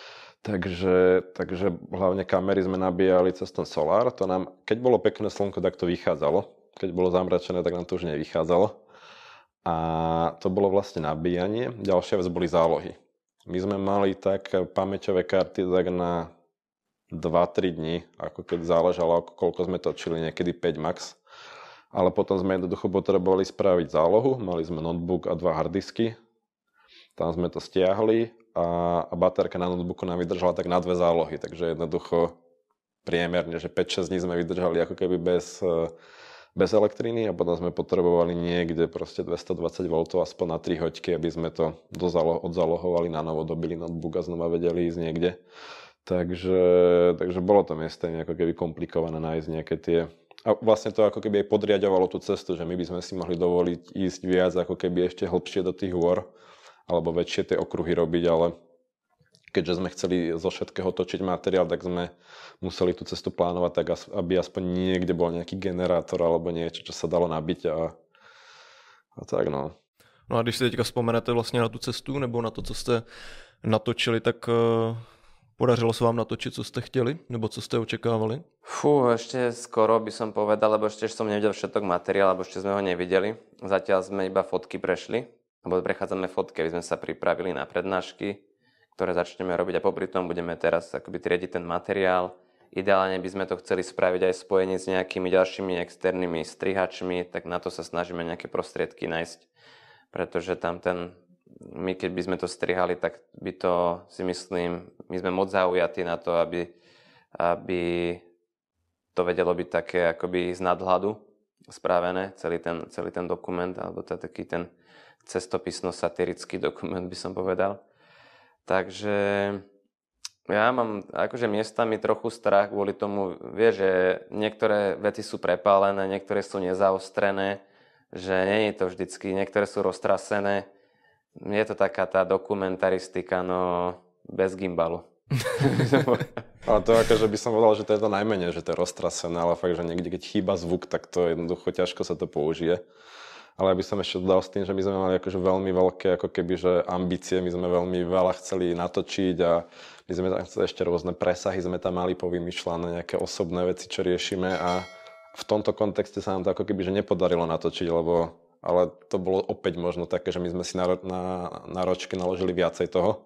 Takže, takže hlavne kamery sme nabíjali cez ten solár. To nám, keď bolo pekné slnko, tak to vychádzalo. Keď bolo zamračené, tak nám to už nevychádzalo. A to bolo vlastne nabíjanie. Ďalšia vec boli zálohy. My sme mali tak pamäťové karty tak na dva tri dní, ako keď záležalo, koľko sme točili, niekedy päť max. Ale potom sme jednoducho potrebovali spraviť zálohu. Mali sme notebook a dva harddisky. Tam sme to stiahli a, a baterka na notebooku nám vydržala tak na dve zálohy. Takže jednoducho priemerne, že päť šesť dní sme vydržali ako keby bez, bez elektriny a potom sme potrebovali niekde proste dvestodvadsať voltov aspoň na tri hoďky, aby sme to dozalo, odzalohovali na novo, dobili notebook a znova vedeli ísť niekde. Takže, takže bolo to miestami ako keby komplikované nájsť nejaké tie... A vlastne to ako keby aj podriadovalo tú cestu, že my by sme si mohli dovoliť ísť viac ako keby ešte hlbšie do tých hôr alebo väčšie tie okruhy robiť, ale keďže sme chceli zo všetkého točiť materiál, tak sme museli tú cestu plánovať tak, aby aspoň niekde bol nejaký generátor alebo niečo, čo sa dalo nabiť a, a tak no. No a když si teďka vzpomenete vlastně na tu cestu nebo na to, co jste natočili, tak uh, podařilo se vám natočit, co jste chtěli nebo co jste očekávali? Fú, ešte skoro by som povedal, lebo ešte som nevidel všetok materiál, lebo ešte sme ho nevideli. Zatiaľ sme iba fotky prešli. Lebo prechádzame fotky, aby sme sa pripravili na prednášky, ktoré začneme robiť a popri tom budeme teraz akoby triediť ten materiál. Ideálne by sme to chceli spraviť aj spojenie s nejakými ďalšími externými strihačmi, tak na to sa snažíme nejaké prostriedky nájsť, pretože tam ten, my keď by sme to strihali, tak by to si myslím, my sme moc zaujatí na to, aby, aby to vedelo byť také akoby z nadhľadu spravené, celý ten, celý ten dokument, alebo to taký ten cestopisno-satirický dokument, by som povedal. Takže ja mám akože miestami trochu strach kvôli tomu, vieš, že niektoré veci sú prepálené, niektoré sú nezaostrené, že nie je to vždycky, niektoré sú roztrasené. Je to taká tá dokumentaristika, no bez gimbalu. Ale to akože by som povedal, že to je to najmenej, že to je roztrasené, ale fakt, že niekde keď chýba zvuk, tak to jednoducho ťažko sa to použije. Ale by som ešte dodal s tým, že my sme mali akože veľmi veľké ako keby, že ambície, my sme veľmi veľa chceli natočiť a my sme tam chceli ešte rôzne presahy, sme tam mali povymýšľané nejaké osobné veci, čo riešime a v tomto kontexte sa nám to ako keby, že nepodarilo natočiť, lebo, ale to bolo opäť možno také, že my sme si na, na, na ročky naložili viacej toho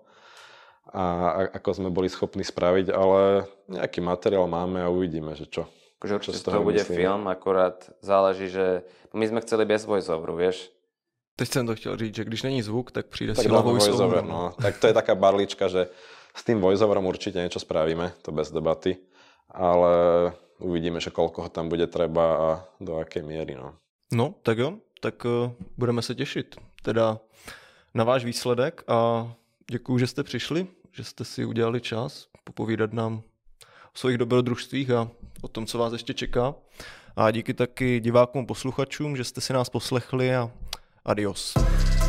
a ako sme boli schopní spraviť, ale nejaký materiál máme a uvidíme, že čo. Že určite to bude myslím. Film, akorát záleží, že my sme chceli bez voiceoveru, vieš. Teď jsem to chtěl říct, že když není zvuk, tak přijde tak síla voiceover. voiceover no. Tak to je taká barlička, že s tým voiceoverom určite niečo spravíme, to bez debaty, ale uvidíme, že koľko ho tam bude treba a do akej miery. No, no tak jo, tak uh, budeme se těšit teda na váš výsledek a děkuju, že jste přišli, že jste si udělali čas popovídat nám o svých dobrodružstvích a o tom, co vás ještě čeká. A díky taky divákům, posluchačům, že jste si nás poslechli a adios.